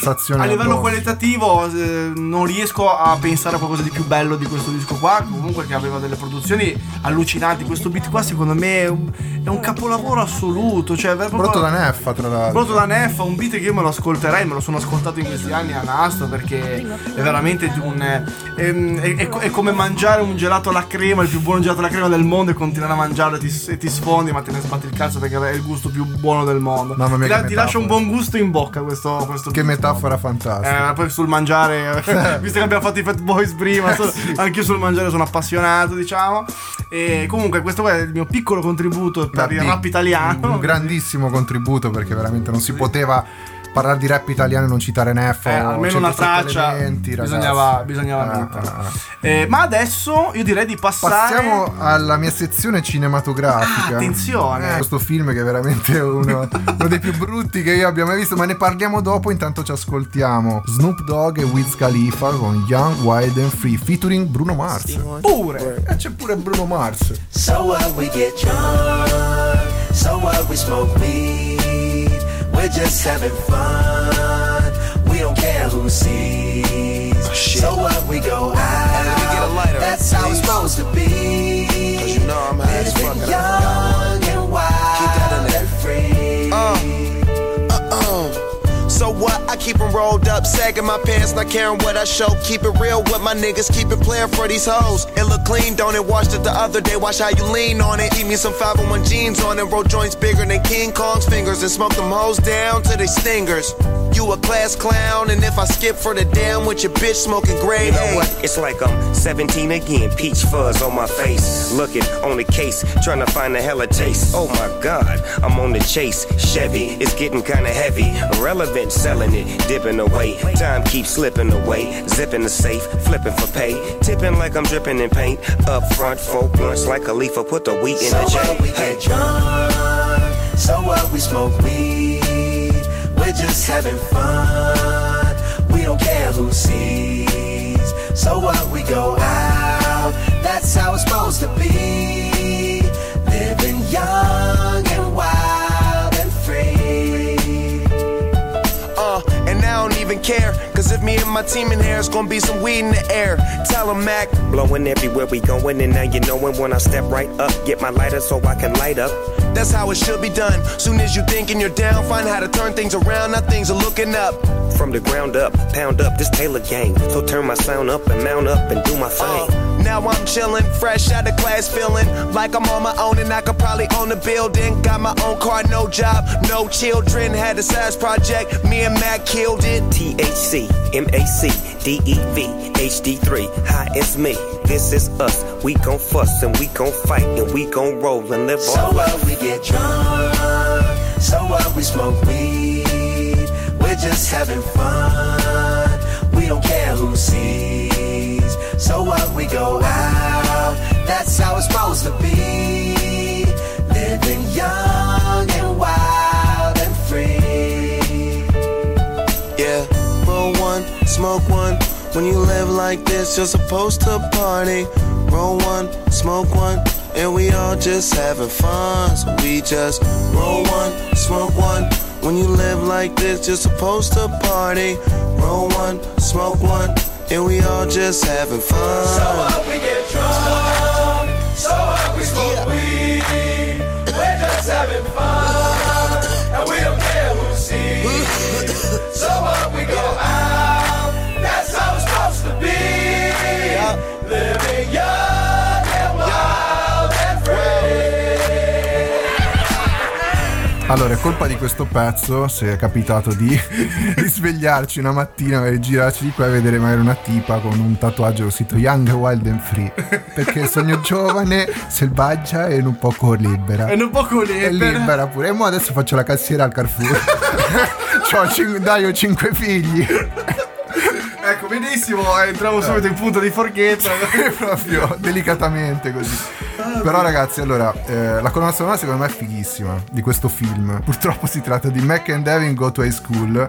sensazione a livello addosso. qualitativo non riesco a pensare a qualcosa di più bello di questo disco qua, comunque che aveva delle produzioni allucinanti. Questo beat qua secondo me è un capolavoro assoluto, cioè prodotto da Neffa, tra l'altro. Prodotto da Neffa, un beat che io me lo ascolterei, me lo sono ascoltato in questi anni a nastro, perché è veramente è come mangiare un gelato alla crema, il più buono gelato alla crema del mondo, e continuare a mangiarlo e ti sfondi, ma te ne sbatti il cazzo perché è il gusto più buono del mondo. Mamma mia, ti lascia un buon gusto in bocca questo che metafora fantastica. poi sul mangiare visto che abbiamo fatto i Fat Boys prima, anche io sul mangiare sono appassionato, diciamo. E comunque questo qua è il mio piccolo contributo per il rap italiano, un grandissimo contributo, perché veramente non si poteva parlare di rap italiano e non citare Neffa, almeno una traccia bisognava metterla. Ma adesso io direi di passiamo alla mia sezione cinematografica. Attenzione, questo film che è veramente uno dei più brutti che io abbia mai visto, ma ne parliamo dopo. Intanto ci ascoltiamo Snoop Dogg e Wiz Khalifa con Young, Wild and Free featuring Bruno Mars. Pure c'è pure Bruno Mars. So what, we get drunk, so what, we smoke weed, we're just having fun, we don't care who sees. So what, we go out, that's how it's supposed to be. 'Cause you know I'm high as fuck, young and wild and free. So what? I keep them rolled up, sagging my pants, not caring what I show. Keep it real with my niggas, keep it playing for these hoes. It look clean, don't it? Washed it the other day, watch how you lean on it. Eat me some 501 jeans on it, roll joints bigger than King Kong's fingers, and smoke them hoes down to they stingers. You a class clown, and if I skip for the damn with your bitch smoking grade, you know what? It's like I'm 17 again, peach fuzz on my face, looking on the case, trying to find a hella taste. Oh my God, I'm on the chase. Chevy, it's getting kinda heavy, irrelevant, selling it, dipping away. Time keeps slipping away, zipping the safe, flipping for pay, tipping like I'm dripping in paint. Up front, 4 blunts like a leaf, put the wheat in the So J. what, we get drunk, so what, we smoke weed, we're just having fun, we don't care who sees. So what, we go out, that's how it's supposed to be, living young and wild and free. And I don't even care, cause if me and my team in here, it's gonna be some weed in the air. Tell 'em, Mac. Blowing everywhere we going, and now you knowin' when I step right up, get my lighter so I can light up. That's how it should be done. Soon as you thinking you're down, find how to turn things around. Now things are looking up. From the ground up, pound up this Taylor gang. So turn my sound up and mount up and do my thing. Now I'm chillin', fresh out of class, feeling like I'm on my own and I could probably own a building. Got my own car, no job, no children. Had a size project, me and Mac killed it. THC, MAC, DEV, HD3, hi, it's me. This is us. We gon' fuss and we gon' fight and we gon' roll and live so our life. So what, we get drunk, so what, we smoke weed, we're just having fun, we don't care who sees. So what, we go out, that's how it's supposed to be, living young and wild and free. Yeah, roll one, smoke one. When you live like this, you're supposed to party. Roll one, smoke one, and we all just having fun. So we just roll one, smoke one. When you live like this, you're supposed to party. Roll one, smoke one, and we all just having fun. So what, we get drunk, so what, we smoke weed, we're just having fun, and we don't care who sees. So what, we go out, that's how it's supposed to be, living young and wild and free. Allora, è colpa di questo pezzo se è capitato di svegliarci una mattina e girarci di qua e vedere magari una tipa con un tatuaggio scritto Young, Wild and Free, perché sogno giovane, selvaggia e un poco libera. E un poco libera. E libera pure. E mo adesso faccio la cassiera al Carrefour. Ho 5 figli. Ecco, benissimo, entriamo subito in punto di forchetta. Proprio delicatamente così. Però ragazzi, allora, la colonna sonora secondo me è fighissima di questo film. Purtroppo si tratta di Mac and Devin Go to High School,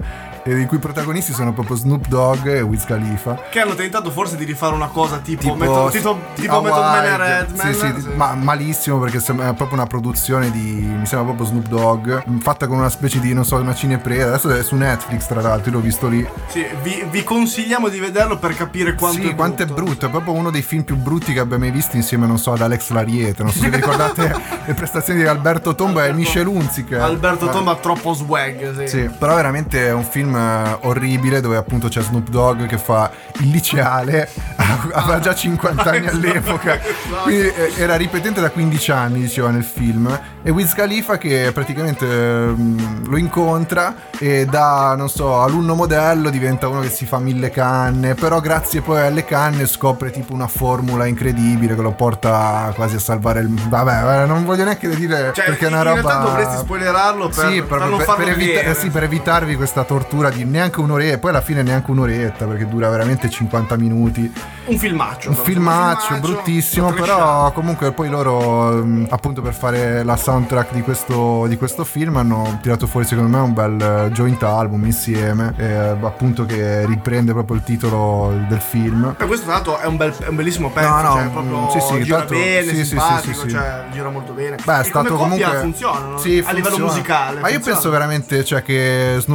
i cui protagonisti sono proprio Snoop Dogg e Wiz Khalifa, che hanno tentato forse di rifare una cosa tipo Method Man e Redman. Sì, ma malissimo, perché è proprio una produzione mi sembra proprio Snoop Dogg, fatta con una specie di, non so, una cinepresa. Adesso è su Netflix, tra l'altro, io l'ho visto lì. Sì, vi consigliamo di vederlo per capire quanto è brutto. È proprio uno dei film più brutti che abbia mai visto, insieme, non so, ad Alex Lariete. Non so se vi ricordate le prestazioni di Alberto Tomba e Michel Hunziker. Alberto Tomba ha troppo swag, sì, però veramente è un film orribile, dove appunto c'è Snoop Dogg che fa il liceale, aveva già 50 anni all'epoca, quindi era ripetente da 15 anni, diceva nel film, e Wiz Khalifa che praticamente lo incontra e da, non so, alunno modello diventa uno che si fa 1000 canne, però grazie poi alle canne scopre tipo una formula incredibile che lo porta quasi a salvare il... Vabbè, non voglio neanche dire, cioè, perché è una roba... In realtà dovresti spoilerarlo per evitarvi questa tortura di neanche un'oretta, poi alla fine neanche un'oretta, perché dura veramente 50 minuti. Un filmaccio bruttissimo, però comunque poi loro appunto per fare la soundtrack di questo film hanno tirato fuori secondo me un bel joint album insieme, appunto, che riprende proprio il titolo del film. E questo tra l'altro è un bellissimo pezzo, cioè proprio gira bene, simpatico, cioè gira molto bene. Beh, è stato comunque funziona, no? Sì, a livello musicale. Ma io penso veramente, cioè, che Snoop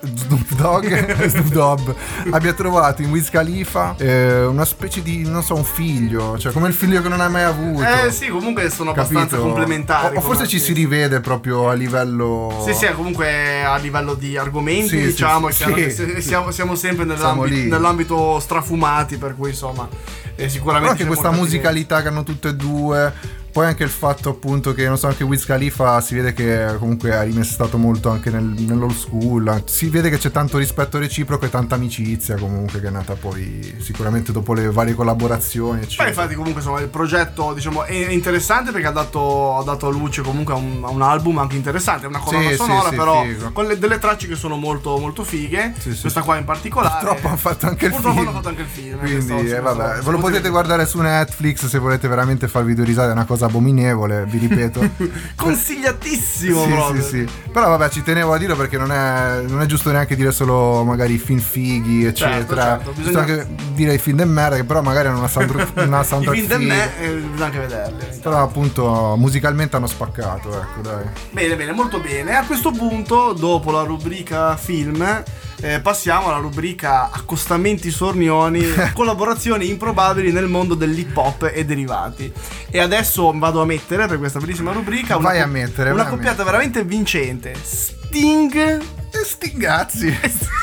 Dogg abbia trovato in Wiz Khalifa una specie di, non so, un figlio, cioè come il figlio che non hai mai avuto. Sì, comunque sono abbastanza complementari. O forse ci si rivede proprio a livello... Sì, comunque a livello di argomenti, diciamo, siamo sempre nell'ambito strafumati, per cui insomma sicuramente... Però anche questa musicalità che hanno tutte e due... Poi anche il fatto appunto che, non so, anche Wiz Khalifa si vede che comunque ha rimestato molto anche nell'old school, si vede che c'è tanto rispetto reciproco e tanta amicizia comunque, che è nata poi sicuramente dopo le varie collaborazioni, eccetera. Poi infatti comunque insomma il progetto, diciamo, è interessante perché ha dato a luce comunque a un album anche interessante, è una colonna sonora però figo, con delle tracce che sono molto molto fighe, questa qua in particolare. Purtroppo hanno fatto anche il film. Quindi vabbè, ve lo potete guardare su Netflix se volete veramente farvi due risate, è una cosa abominevole, vi ripeto. Consigliatissimo proprio. Sì. Però vabbè, ci tenevo a dirlo perché non è giusto neanche dire solo magari film fighi, eccetera. Certo. Bisogna anche dire i film de merda, che però magari hanno una soundtrack i film de bisogna anche vederli. Però appunto musicalmente hanno spaccato, ecco, dai. Bene, molto bene. A questo punto, dopo la rubrica film, passiamo alla rubrica accostamenti sornioni, collaborazioni improbabili nel mondo dell'hip hop e derivati. E adesso vado a mettere per questa bellissima rubrica una coppiata veramente vincente: Sting e Stingazzi.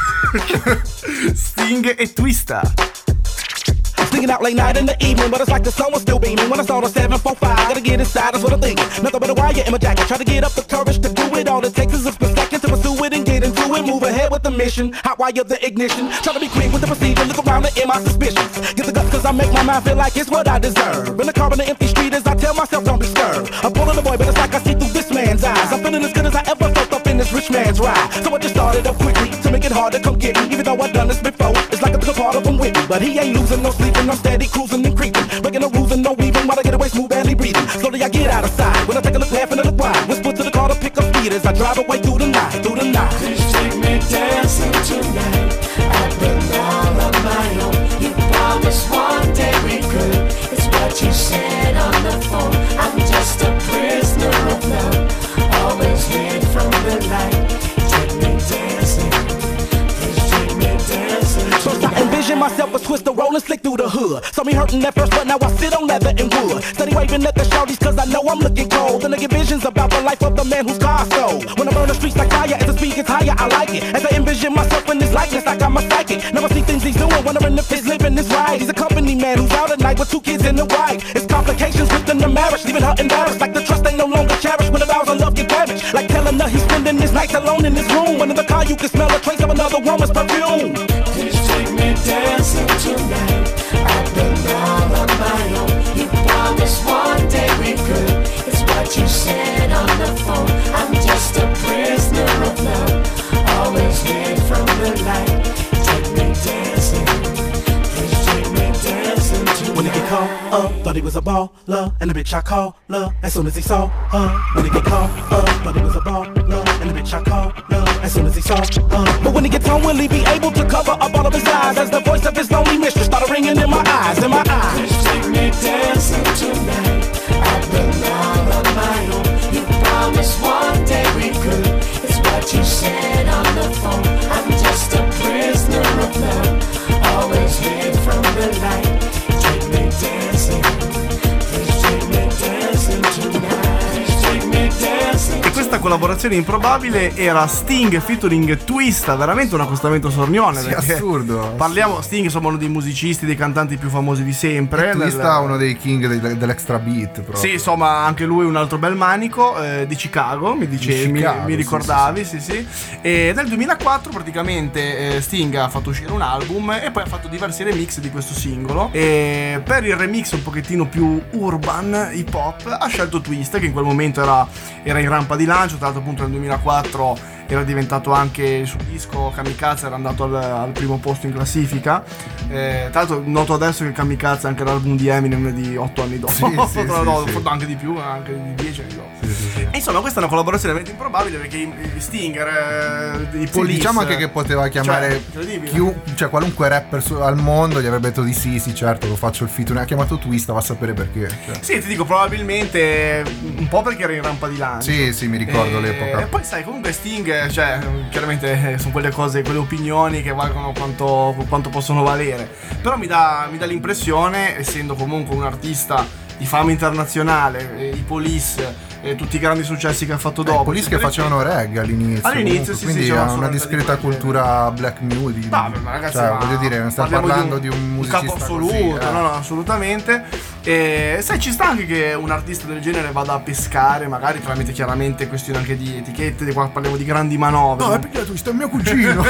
Sting e Twista. Sneaking out late night in the evening, but it's like the sun was still beaming when I saw the 745. Gotta get inside, that's what I'm thinking. Nothing but a wire in my jacket. Try to get up the courage to do it. All it takes is a split second to pursue it and get into it. Move ahead with the mission. Hot wire the ignition. Try to be quick with the procedure. Look around and air my suspicions. Get the guts cause I make my mind feel like it's what I deserve. In the car on the empty street as I tell myself don't be scared. I'm pulling the boy, but it's like I see through this man's eyes. I'm feeling as good as I ever felt up in this rich man's ride. So I just started up quickly to make it hard to come get me. Even though I've done this before, it's like I took a part of him with me. But he ain't losing no sleep and I'm steady cruising and creeping, breaking the rules and no weaving while I get away smooth, barely breathing. Slowly I get out of sight when I take a look, laughing at the pride. Whisper to the car to pick up speed as I drive away through the night, Please take me dancing tonight. I belong on my own. You promised one day we could. It's what you said on the phone. I'm just a prisoner of love, always hid from the light. Take me dancing. Please take me dancing tonight. Envision myself a twister rolling slick through the hood. Saw me hurting at first, but now I sit on leather and wood. Steady waving at the shorties cause I know I'm looking cold. And I get visions about the life of the man whose car stole. When I burn the streets like fire, as the speed gets higher, I like it. As I envision myself in this likeness, I got my psychic. Never see things he's doing, wondering if his living is right. He's a company man who's out at night with 2 kids and a wife. It's complications within the marriage, leaving her embarrassed. Like the trust ain't no longer cherished when the vows of love get damaged. Like telling her he's spending his nights alone in his room. When in the car you can smell a trace of another woman's perfume. Please take me dancing tonight. I belong on my own. You promised one day we could. It's what you said on the phone. I'm just a prisoner of love, always hid from the light. Take me dancing. Please take me dancing tonight. When he get caught up, thought he was a baller, and the bitch I call her as soon as he saw her. When he get caught up, thought he was a baller. and the bitch I call love as soon as he saw But when he gets home, will he be able to cover up all of his eyes as the voice of his lonely mistress started ringing in my eyes, in my eyes? Take me dancing tonight. I've been all on my own. You promised one day we could. It's what you said on the phone. I'm just a prisoner of love, always hid from the light. Take me dancing. Please take me dancing tonight. Take me dancing. E questa collaborazione improbabile era Sting featuring Twista, veramente un accostamento sornione. Sì, assurdo. Parliamo, Sting insomma uno dei musicisti, dei cantanti più famosi di sempre. Twista uno dei king dell'extra beat proprio. Sì, insomma anche lui un altro bel manico di Chicago, mi dicevi, mi ricordavi, sì. E nel 2004 praticamente Sting ha fatto uscire un album e poi ha fatto diversi remix di questo singolo, e per il remix un pochettino più urban, hip hop, ha scelto Twista, che in quel momento era in rampa di lancio. Tra l'altro appunto nel 2004 era diventato anche il suo disco Kamikaze, era andato al primo posto in classifica. Tra l'altro noto adesso che Kamikaze è anche l'album di Eminem di 8 anni dopo, sì. Anche di più, anche di 10 anni dopo. Sì. E insomma questa è una collaborazione veramente improbabile, perché i Stinger, i Police, diciamo anche che poteva chiamare qualunque rapper al mondo, gli avrebbe detto di sì certo, lo faccio il feat. Ha chiamato Twista, va a sapere perché. Sì, ti dico probabilmente un po' perché era in rampa di lancio. Sì, mi ricordo l'epoca. E poi sai, comunque Sting, cioè chiaramente sono quelle cose, quelle opinioni che valgono quanto possono valere, però mi dà l'impressione, essendo comunque un artista di fama internazionale, i Police, tutti i grandi successi che ha fatto dopo. I Police che facevano reggae all'inizio comunque, sì, quindi ha una discreta cultura black music. Ma ragazzi, voglio dire, non stiamo parlando di un musicista capo assoluto, così, no, assolutamente. E sai, ci sta anche che un artista del genere vada a pescare, magari tramite chiaramente questioni anche di etichette, di qua parliamo di grandi manovre. No, è perché tu sei mio cugino.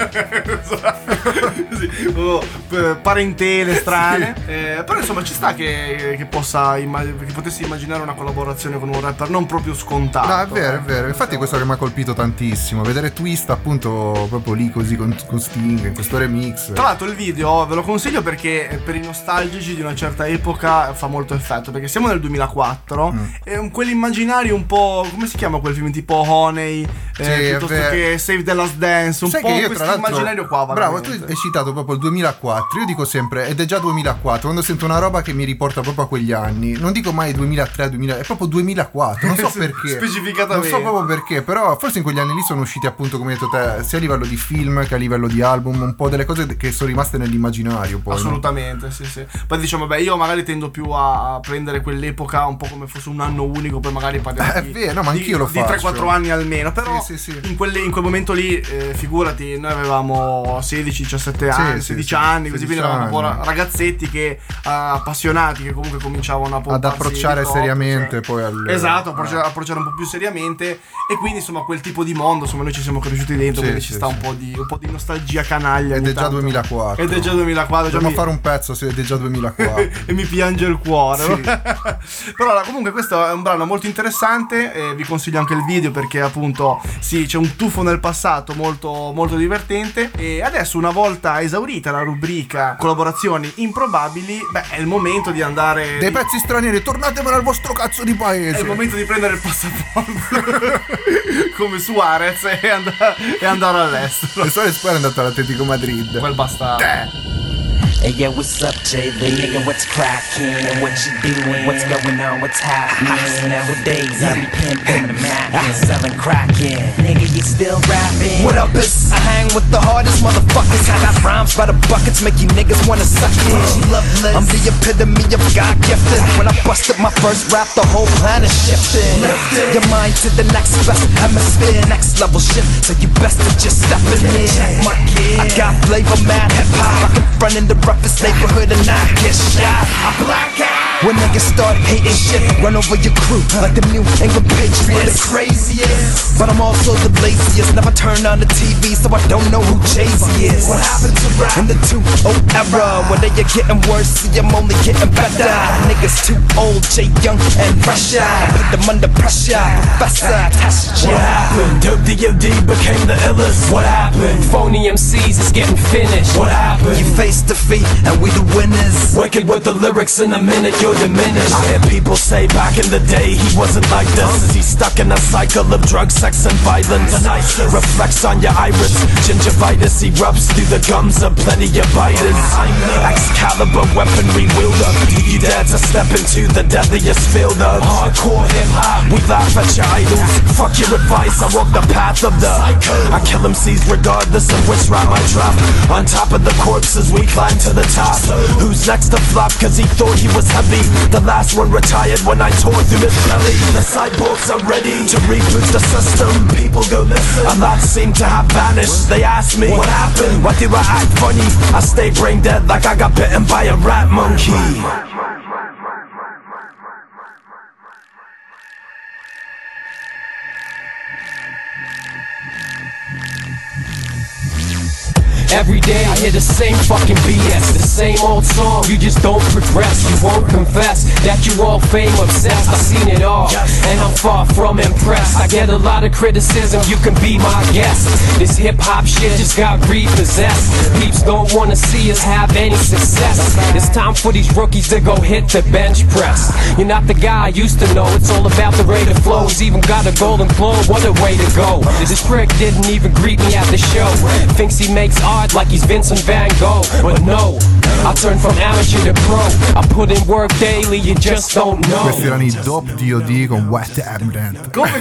Parentele strane. Però insomma ci sta che potessi immaginare una collaborazione con un rapper non proprio scontato. No, è vero. Infatti questo che mi ha colpito tantissimo, vedere Twista appunto proprio lì così con Sting in questo remix. Tra l'altro il video ve lo consiglio perché per i nostalgici di una certa epoca fa molto effetto, perché siamo nel 2004 e quell'immaginario un po', come si chiama quel film tipo Honey, piuttosto che Save the Last Dance, un sai po' che io, questo immaginario qua. Bravo, tu hai citato proprio il 2004. Io dico sempre, ed è già 2004, quando sento una roba che mi riporta proprio a quegli anni, non dico mai 2003, 2000, è proprio 2004, non so perché. Specificatamente. Non so proprio perché, però forse in quegli anni lì sono usciti appunto, come hai detto te, sia a livello di film che a livello di album, un po' delle cose che sono rimaste nell'immaginario poi. Assolutamente, no? Sì. Poi diciamo, io magari tendo più a prendere quell'epoca un po' come fosse un anno unico, poi magari parliamo è vero, no, ma anch'io lo faccio. Di 3-4 anni almeno, però sì. In quel momento lì, figurati, noi avevamo 16-17 anni, 16 anni, così, quindi eravamo un po' ragazzetti che appassionati, che comunque cominciavano ad approcciare seriamente poi esatto, approcciare un po' più seriamente, e quindi insomma quel tipo di mondo, insomma noi ci siamo cresciuti dentro, quindi ci sta un po' di nostalgia canaglia. Ed è già 2004. Dobbiamo fare un pezzo, ed è già 2004. E mi piange il cuore, no? Però comunque questo è un brano molto interessante, vi consiglio anche il video perché appunto sì, c'è un tuffo nel passato molto, molto divertente. E adesso, una volta esaurita la rubrica collaborazioni improbabili, è il momento di andare dei pezzi stranieri, tornatemelo al vostro cazzo di paese. È il momento di prendere il passaporto come Suarez e andare all'estero. E Suarez poi è andato all'Atletico Madrid, quel bastardo. Hey yo, what's up, JV? Nigga, what's crackin'? What you doing? What's going on? What's happening? Nowadays, I be pimpin' the Mac and selling crackin'. Nigga, you still rapping? What up, is I hang with the hardest motherfuckers. I got rhymes by the buckets, make you niggas wanna suck it. I'm the epitome of God gifted. When I busted my first rap, the whole planet shifted. Your mind to the next best hemisphere, next level shit. So you best to just step in here. I got flavor, mad hip hop. I can front in the roughest neighborhood and not get shot. I black out when niggas start hating shit. Run over your crew like the New England Patriots. The craziest, but I'm also the laziest. Never turn on the TV, so I don't know who Jay-Z is. What happened to rap in the 2-0 era? When they are getting worse, see I'm only getting better. Niggas too old, Jay Young and fresher. Put them under pressure, Professor Test. What happened? Dope D.O.D. became the illest. What happened? Phony MCs is getting finished. What happened? You face defeat and we the winners. Wicked with the lyrics in a minute. you're diminished. I hear people say back in the day he wasn't like this. He's stuck in a cycle of drugs, sex and violence. Reflects on your iris, gingivitis erupts through the gums of plenty of biters. Excalibur weaponry wielder, you dare to step into the deadliest field of hardcore hip-hop. We laugh at your idols, fuck your advice, I walk the path of the I kill MCs regardless of which rhyme I drop. On top of the corpses we climb to the top. Who's next to flop cause he thought he was heavy? The last one retired when I tore through his belly. The cyborgs are ready to reboot the system. People go listen, a lot seem to have vanished. They ask me, what happened? Why do I act funny? I stay brain dead like I got bitten by a rat monkey. Every day I hear the same fucking BS, the same old song, you just don't progress. You won't confess that you all fame obsessed. I've seen it all, and I'm far from impressed. I get a lot of criticism, you can be my guest. This hip hop shit just got repossessed. Peeps don't wanna see us have any success. It's time for these rookies to go hit the bench press. You're not the guy I used to know, it's all about the rate of flow. He's even got a golden globe, what a way to go. This prick didn't even greet me at the show. Thinks he makes art like he's Vincent Van Gogh, but no, I turn from amateur to pro. I put in work daily, you just don't know. Questi erano i Dope D.O.D. con What Happened. Come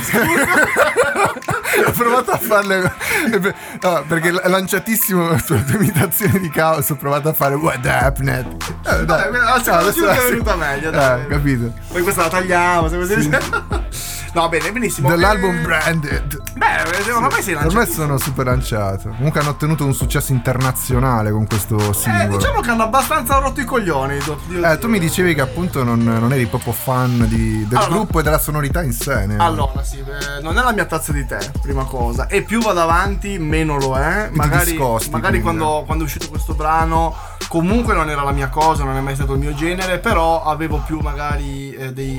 Ho provato a farle no, perché è lanciatissimo sulla tua imitazione di Caos. Ho provato a fare What Happened. Dai, adesso è venuta meglio, dai. Capito. Poi questa la tagliamo, se così. No, bene, benissimo. Dell'album Branded. Beh, ormai sei lanciato. Per me sono super lanciato. Comunque hanno ottenuto un successo internazionale con questo singolo. Diciamo che hanno abbastanza rotto i coglioni. Tu mi dicevi che appunto non eri proprio fan del gruppo e della sonorità in sé. Allora, sì, non è la mia tazza di tè, prima cosa. E più vado avanti, meno lo è. Magari quando è uscito questo brano, comunque non era la mia cosa, non è mai stato il mio genere. Però avevo più magari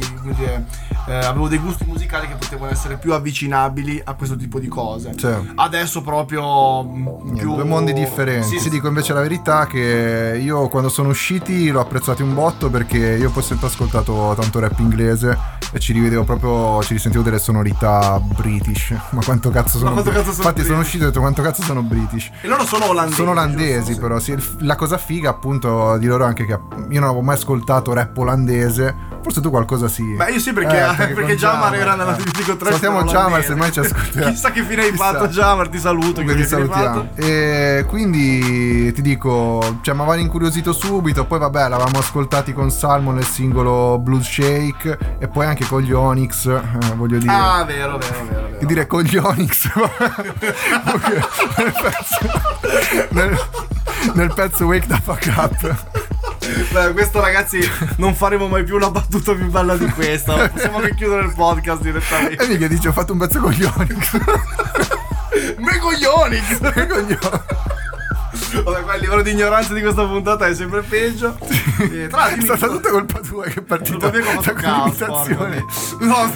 avevo dei gusti musicali che potevano essere più avvicinabili a questo tipo di cose. Adesso proprio più due mondi differenti. Sì, dico invece la verità che io quando sono usciti l'ho apprezzati un botto, perché io poi ho sempre ascoltato tanto rap inglese e ci risentivo delle sonorità british. Ma quanto cazzo sono infatti sono uscito e ho detto quanto cazzo sono british. E loro sono olandesi. Sono olandesi, però sì. La cosa figa appunto di loro anche che io non avevo mai ascoltato rap olandese. Forse tu qualcosa sì. Beh, io sì, perché Jamar era nella Dico 3. Salutiamo Jamar, se mai ci ascolterà. Chissà che fine hai fatto, Jamar, ti saluto. Ti salutiamo. E quindi ti dico, mi avevano incuriosito subito. Poi vabbè, l'avevamo ascoltati con Salmon nel singolo Blues Shake e poi anche con gli Onyx, voglio dire. Ah, vero. Che dire con gli Onyx. nel pezzo Wake the Fuck Up. Beh, questo ragazzi non faremo mai più una battuta più bella di questa. Possiamo anche chiudere il podcast direttamente. E mica dice ho fatto un pezzo con gli Onyx. Me con gli Onyx. Vabbè, qua il livello di ignoranza di questa puntata è sempre peggio. È stata tutta colpa tua che è partita da quell'imitazione. No,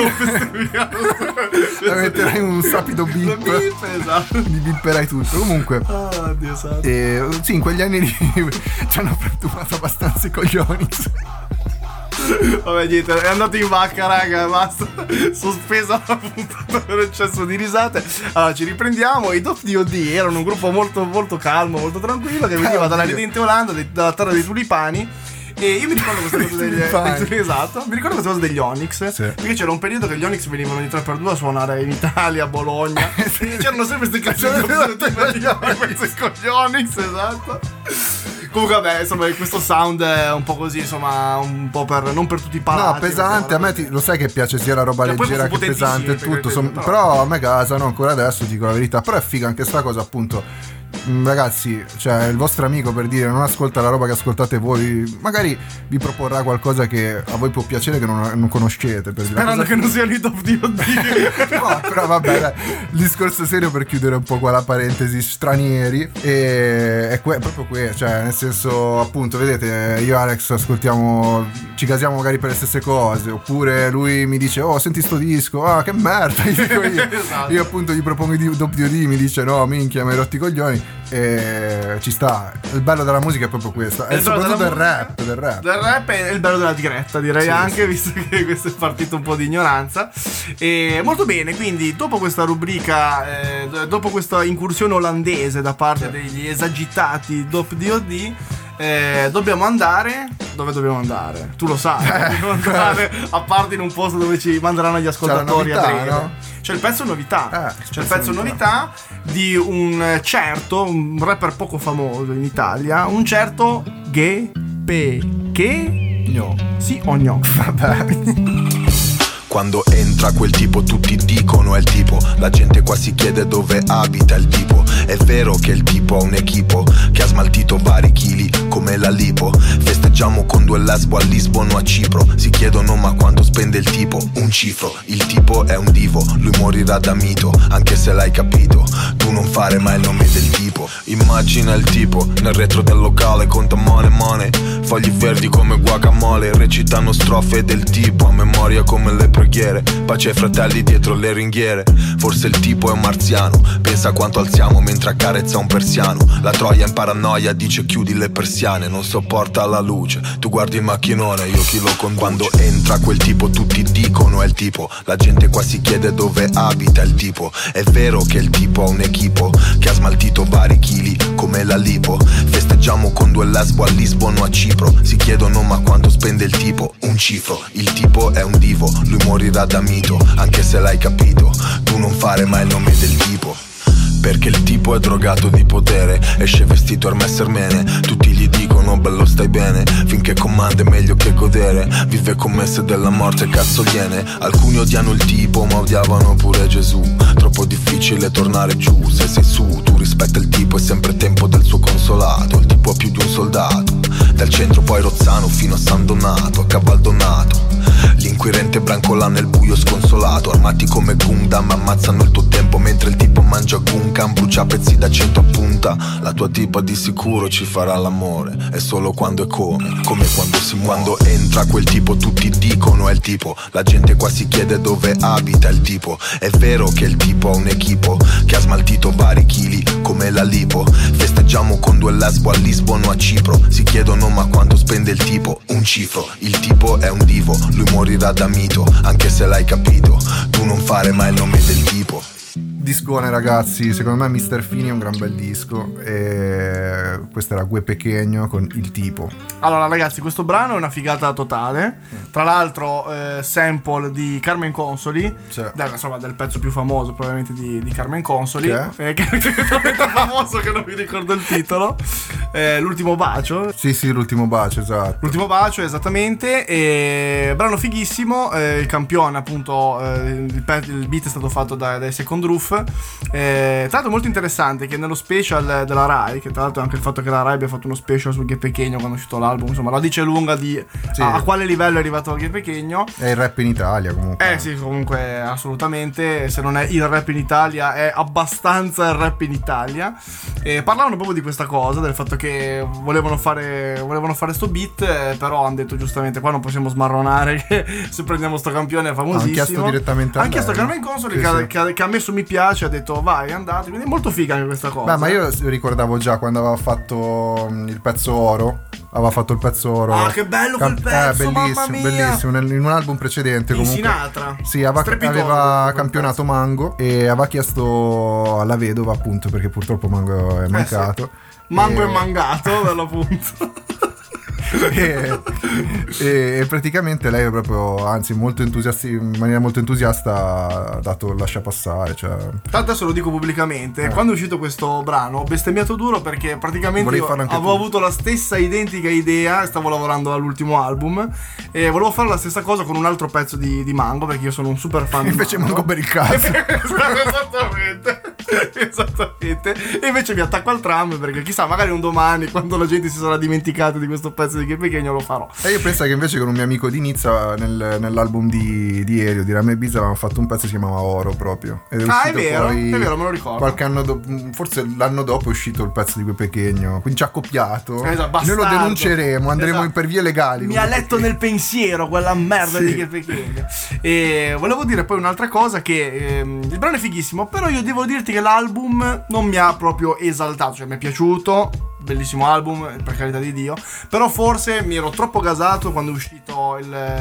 la metterai un sapido beep. Esatto. Mi bipperai tutto. Comunque Dio santo. sì, in quegli anni lì ci hanno frantumato abbastanza i coglioni. Vabbè, niente, è andato in vacca, raga, basta. Sospesa la puntata per eccesso di risate. Allora, ci riprendiamo. I Dope D.O.D. erano un gruppo molto, molto calmo, molto tranquillo, che veniva dalla ridente Olanda, dalla terra dei tulipani. E io mi ricordo questa cosa esatto, mi ricordo questa cosa degli Onyx, perché c'era un periodo che gli Onyx venivano di 3x2 a suonare in Italia, a Bologna. C'erano sempre queste canzoni con gli Onyx, esatto. Comunque vabbè, insomma, questo sound è un po' così, insomma, un po' per non per tutti i palati. No, pesante, a me lo sai che piace sia la roba leggera che pesante e tutto, però a me gasano ancora adesso, dico la verità. Però è figa anche sta cosa, appunto. Ragazzi, cioè il vostro amico, per dire, non ascolta la roba che ascoltate voi, magari vi proporrà qualcosa che a voi può piacere, che non conoscete, per dire. Sperando che non siano i Dope D.O.D. No, però vabbè, dai, il discorso serio, per chiudere un po' qua la parentesi, stranieri, è proprio cioè nel senso, appunto, vedete, io e Alex ascoltiamo, ci casiamo magari per le stesse cose, oppure lui mi dice oh senti sto disco, che merda, gli dico io. Esatto. Io appunto gli propongo i Dope D.O.D, mi dice no minchia mi hai rotti i coglioni. Ci sta. Il bello della musica è proprio questo. E soprattutto del rap. Del rap è il bello della diretta, direi, anche, visto che questo è partito un po' di ignoranza. E molto bene, quindi dopo questa rubrica, dopo questa incursione olandese da parte degli esagitati DOD, dobbiamo andare. Dove dobbiamo andare? Tu lo sai. Dobbiamo andare a parte in un posto dove ci manderanno gli ascoltatori novità, a breve. no? C'è il pezzo novità. C'è il pezzo novità di un certo, un rapper poco famoso in Italia, un certo Gepechegno. Sì o no? Vabbè. Quando entra quel tipo tutti dicono è il tipo. La gente qua si chiede dove abita il tipo. È vero che il tipo ha un equipo che ha smaltito vari chili come la lipo. Festeggiamo con 2 lesbo a Lisbona o a Cipro. Si chiedono ma quanto spende il tipo? Un cifro. Il tipo è un divo, lui morirà da mito, anche se l'hai capito. Tu non fare mai il nome del tipo. Immagina il tipo nel retro del locale, conta money, fogli verdi come guacamole, recitano strofe del tipo a memoria come le preghiere. Pace ai fratelli dietro le ringhiere. Forse il tipo è un marziano, pensa quanto alziamo mentre accarezza un persiano. La troia in paranoia dice chiudi le persiane, non sopporta la luce. Tu guardi il macchinone, io chi lo conduce. Quando entra quel tipo tutti dicono è il tipo. La gente qua si chiede dove abita il tipo. È vero che il tipo ha un equipo che ha smaltito vari chili come la lipo. Festeggiamo con 2 lesbo a Lisbona o a Cipro. Si chiedono ma quanto spende il tipo? Un cifro. Il tipo è un divo, lui morirà da mito, anche se l'hai capito. Tu non fare mai il nome del tipo. Perché il tipo è drogato di potere, esce vestito Hermès Hermene. Tutti gli dicono bello stai bene, finché comanda è meglio che godere. Vive commesse della morte, cazzo gliene. Alcuni odiano il tipo ma odiavano pure Gesù. Troppo difficile tornare giù, se sei su tu rispetta il tipo, è sempre tempo del suo consolato. Il tipo ha più di un soldato, dal centro poi Rozzano fino a San Donato, a Cavaldonato. L'inquirente brancola nel buio sconsolato, armati come Gundam ammazzano il tuo tempo mentre il tipo mangia Gunkan, brucia pezzi da 100 a punta. La tua tipa di sicuro ci farà l'amore, è solo quando è come quando si muore. Quando entra quel tipo tutti dicono è il tipo. La gente qua si chiede dove abita il tipo. È vero che il tipo ha un equipo che ha smaltito vari chili come la lipo. Festeggiamo con 2 lesbo a Lisbona o a Cipro. Si chiedono ma quanto spende il tipo? Un cifro. Il tipo è un divo, lui morirà da mito, anche se l'hai capito. Tu non fare mai il nome del tipo. Discone ragazzi, secondo me Mr. Fini è un gran bel disco. E questo era Gepechegno con il tipo. Allora ragazzi, questo brano è una figata totale. Tra l'altro sample di Carmen Consoli, insomma del pezzo più famoso probabilmente di Carmen Consoli, che è talmente famoso che non mi ricordo il titolo. L'ultimo bacio. Sì, l'ultimo bacio, esatto. L'ultimo bacio, esattamente. E brano fighissimo. Il campione appunto, il beat è stato fatto dai Second Roof. Tra l'altro molto interessante che nello special della Rai, che tra l'altro anche il fatto che la Rai abbia fatto uno special su Gepechegno quando è uscito l'album, insomma la dice lunga di a quale livello è arrivato Gepechegno. È il rap in Italia comunque. Sì, comunque assolutamente, se non è il rap in Italia è abbastanza il rap in Italia. Parlavano proprio di questa cosa, del fatto che volevano fare sto beat, però hanno detto giustamente qua non possiamo smarronare che se prendiamo sto campione è famosissimo. Hanno chiesto direttamente a lei. Hanno chiesto a Carmen Consoli che ha messo mi piace, ha detto vai, andate, quindi è molto figa anche questa cosa. Beh, ma io ricordavo già quando aveva fatto il pezzo Oro. Aveva fatto il pezzo Oro. Ah, che bello quel pezzo, bellissimo, bellissimo. In un album precedente comunque. Sinatra. Sì, aveva campionato Mango e aveva chiesto alla vedova, appunto, perché purtroppo Mango è mancato. Sì. Mango è mangato, per l'appunto. E praticamente lei è proprio, anzi molto entusiasta, in maniera molto entusiasta ha dato lascia passare, cioè. Adesso lo dico pubblicamente, quando è uscito questo brano ho bestemmiato duro perché praticamente io avevo avuto la stessa identica idea, stavo lavorando all'ultimo album e volevo fare la stessa cosa con un altro pezzo di Mango, perché io sono un super fan invece di Mango per il cazzo. Esattamente. E invece mi attacco al tram perché chissà, magari un domani quando la gente si sarà dimenticata di questo pezzo di Gepechegno lo farò. E io penso che invece con un mio amico di Nizza nell'album di Elio di Rame Ibiza avevamo fatto un pezzo che si chiamava Oro proprio. Ed è vero, me lo ricordo. Qualche anno dopo, forse l'anno dopo è uscito il pezzo di Gepechegno, quindi ci ha copiato. Esatto, noi lo denunceremo, andremo per vie legali. Mi ha letto nel pensiero quella merda di Gepechegno. E volevo dire poi un'altra cosa, che il brano è fighissimo, però io devo dirti che l'album non mi ha proprio esaltato, cioè mi è piaciuto, bellissimo album, per carità di Dio, però forse mi ero troppo gasato quando è uscito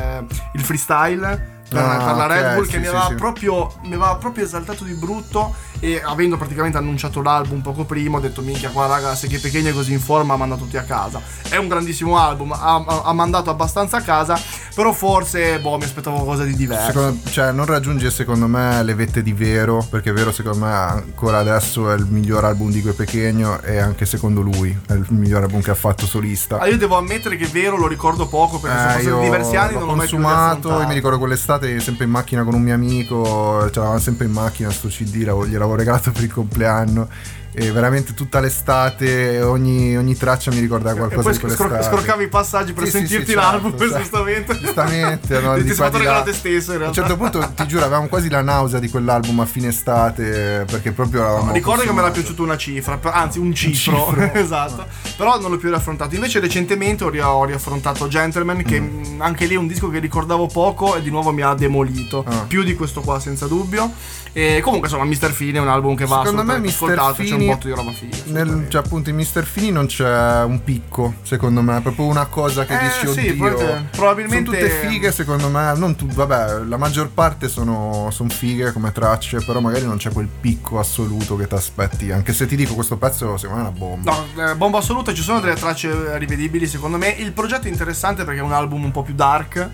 il freestyle per la Red Bull, che mi aveva proprio esaltato di brutto, e avendo praticamente annunciato l'album poco prima ho detto minchia, qua raga, se che Pequeno è così in forma manda tutti a casa. È un grandissimo album, ha mandato abbastanza a casa, però forse mi aspettavo qualcosa di diverso. Cioè non raggiunge secondo me le vette di Vero, perché Vero secondo me ancora adesso è il miglior album di Gue Pequeno, e anche secondo lui è il miglior album che ha fatto solista. Io devo ammettere che Vero lo ricordo poco, perché sono passati diversi anni, non l'ho mai più consumato. Io mi ricordo quell'estate sempre in macchina con un mio amico, c'eravamo sempre in macchina, sto CD gliel'avevo regalato per il compleanno, e veramente tutta l'estate ogni traccia mi ricorda qualcosa di quell'estate. Scorcavi i passaggi per sentirti l'album, certo, giustamente no, ti sei fatto regalo te stesso in realtà. A un certo punto ti giuro avevamo quasi la nausea di quell'album a fine estate, perché proprio ricordo che me l'ha piaciuto una cifra, anzi un cifro. Esatto, però non l'ho più riaffrontato. Invece recentemente ho riaffrontato Gentleman, che anche lì è un disco che ricordavo poco e di nuovo mi ha demolito, più di questo qua senza dubbio. E comunque insomma Mr. Fini è un album che va assolutamente ascoltato, c'è un botto di roba figa. Cioè appunto in Mr. Fini non c'è un picco, secondo me, è proprio una cosa che dici oddio, probabilmente sono tutte fighe secondo me, non vabbè, la maggior parte sono fighe come tracce, però magari non c'è quel picco assoluto che ti aspetti, anche se ti dico questo pezzo secondo me è una bomba. No, bomba assoluta, ci sono delle tracce rivedibili secondo me. Il progetto è interessante perché è un album un po' più dark,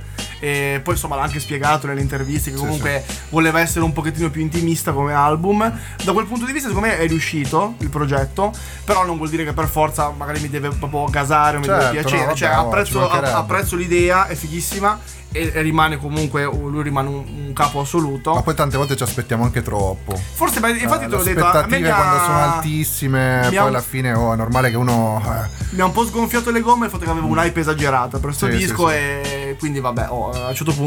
e poi insomma l'ha anche spiegato nelle interviste che comunque voleva essere un pochettino più intimista come album. Da quel punto di vista secondo me è riuscito il progetto, però non vuol dire che per forza magari mi deve proprio gasare o mi deve piacere, no, cioè apprezzo l'idea, è fighissima, e rimane comunque, lui rimane un capo assoluto. Ma poi tante volte ci aspettiamo anche troppo. Forse, infatti te l'ho detto, le aspettative quando sono altissime, poi alla fine è normale che uno mi ha un po' sgonfiato le gomme il fatto che avevo un'hype esagerata per sto disco, e quindi vabbè, a un certo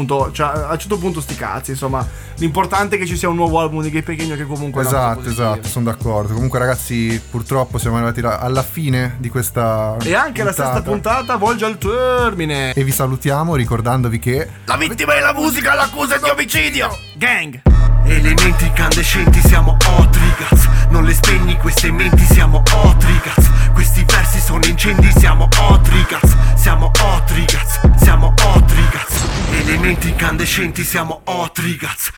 punto sti cazzi, insomma, l'importante è che ci sia un nuovo album di Gue Pequeno che comunque esatto, sono d'accordo. Comunque ragazzi, purtroppo siamo arrivati alla fine di questa e anche puntata. La sesta puntata volge al termine, e vi salutiamo ricordandovi che la vittima della musica l'accusa di omicidio. Gang. Elementi incandescenti, siamo Otrigaz. Non le spegni queste menti, siamo Otrigaz. Questi versi sono incendi, siamo Otrigaz. Siamo Otrigaz, siamo Otrigaz. Elementi incandescenti, siamo Otrigaz.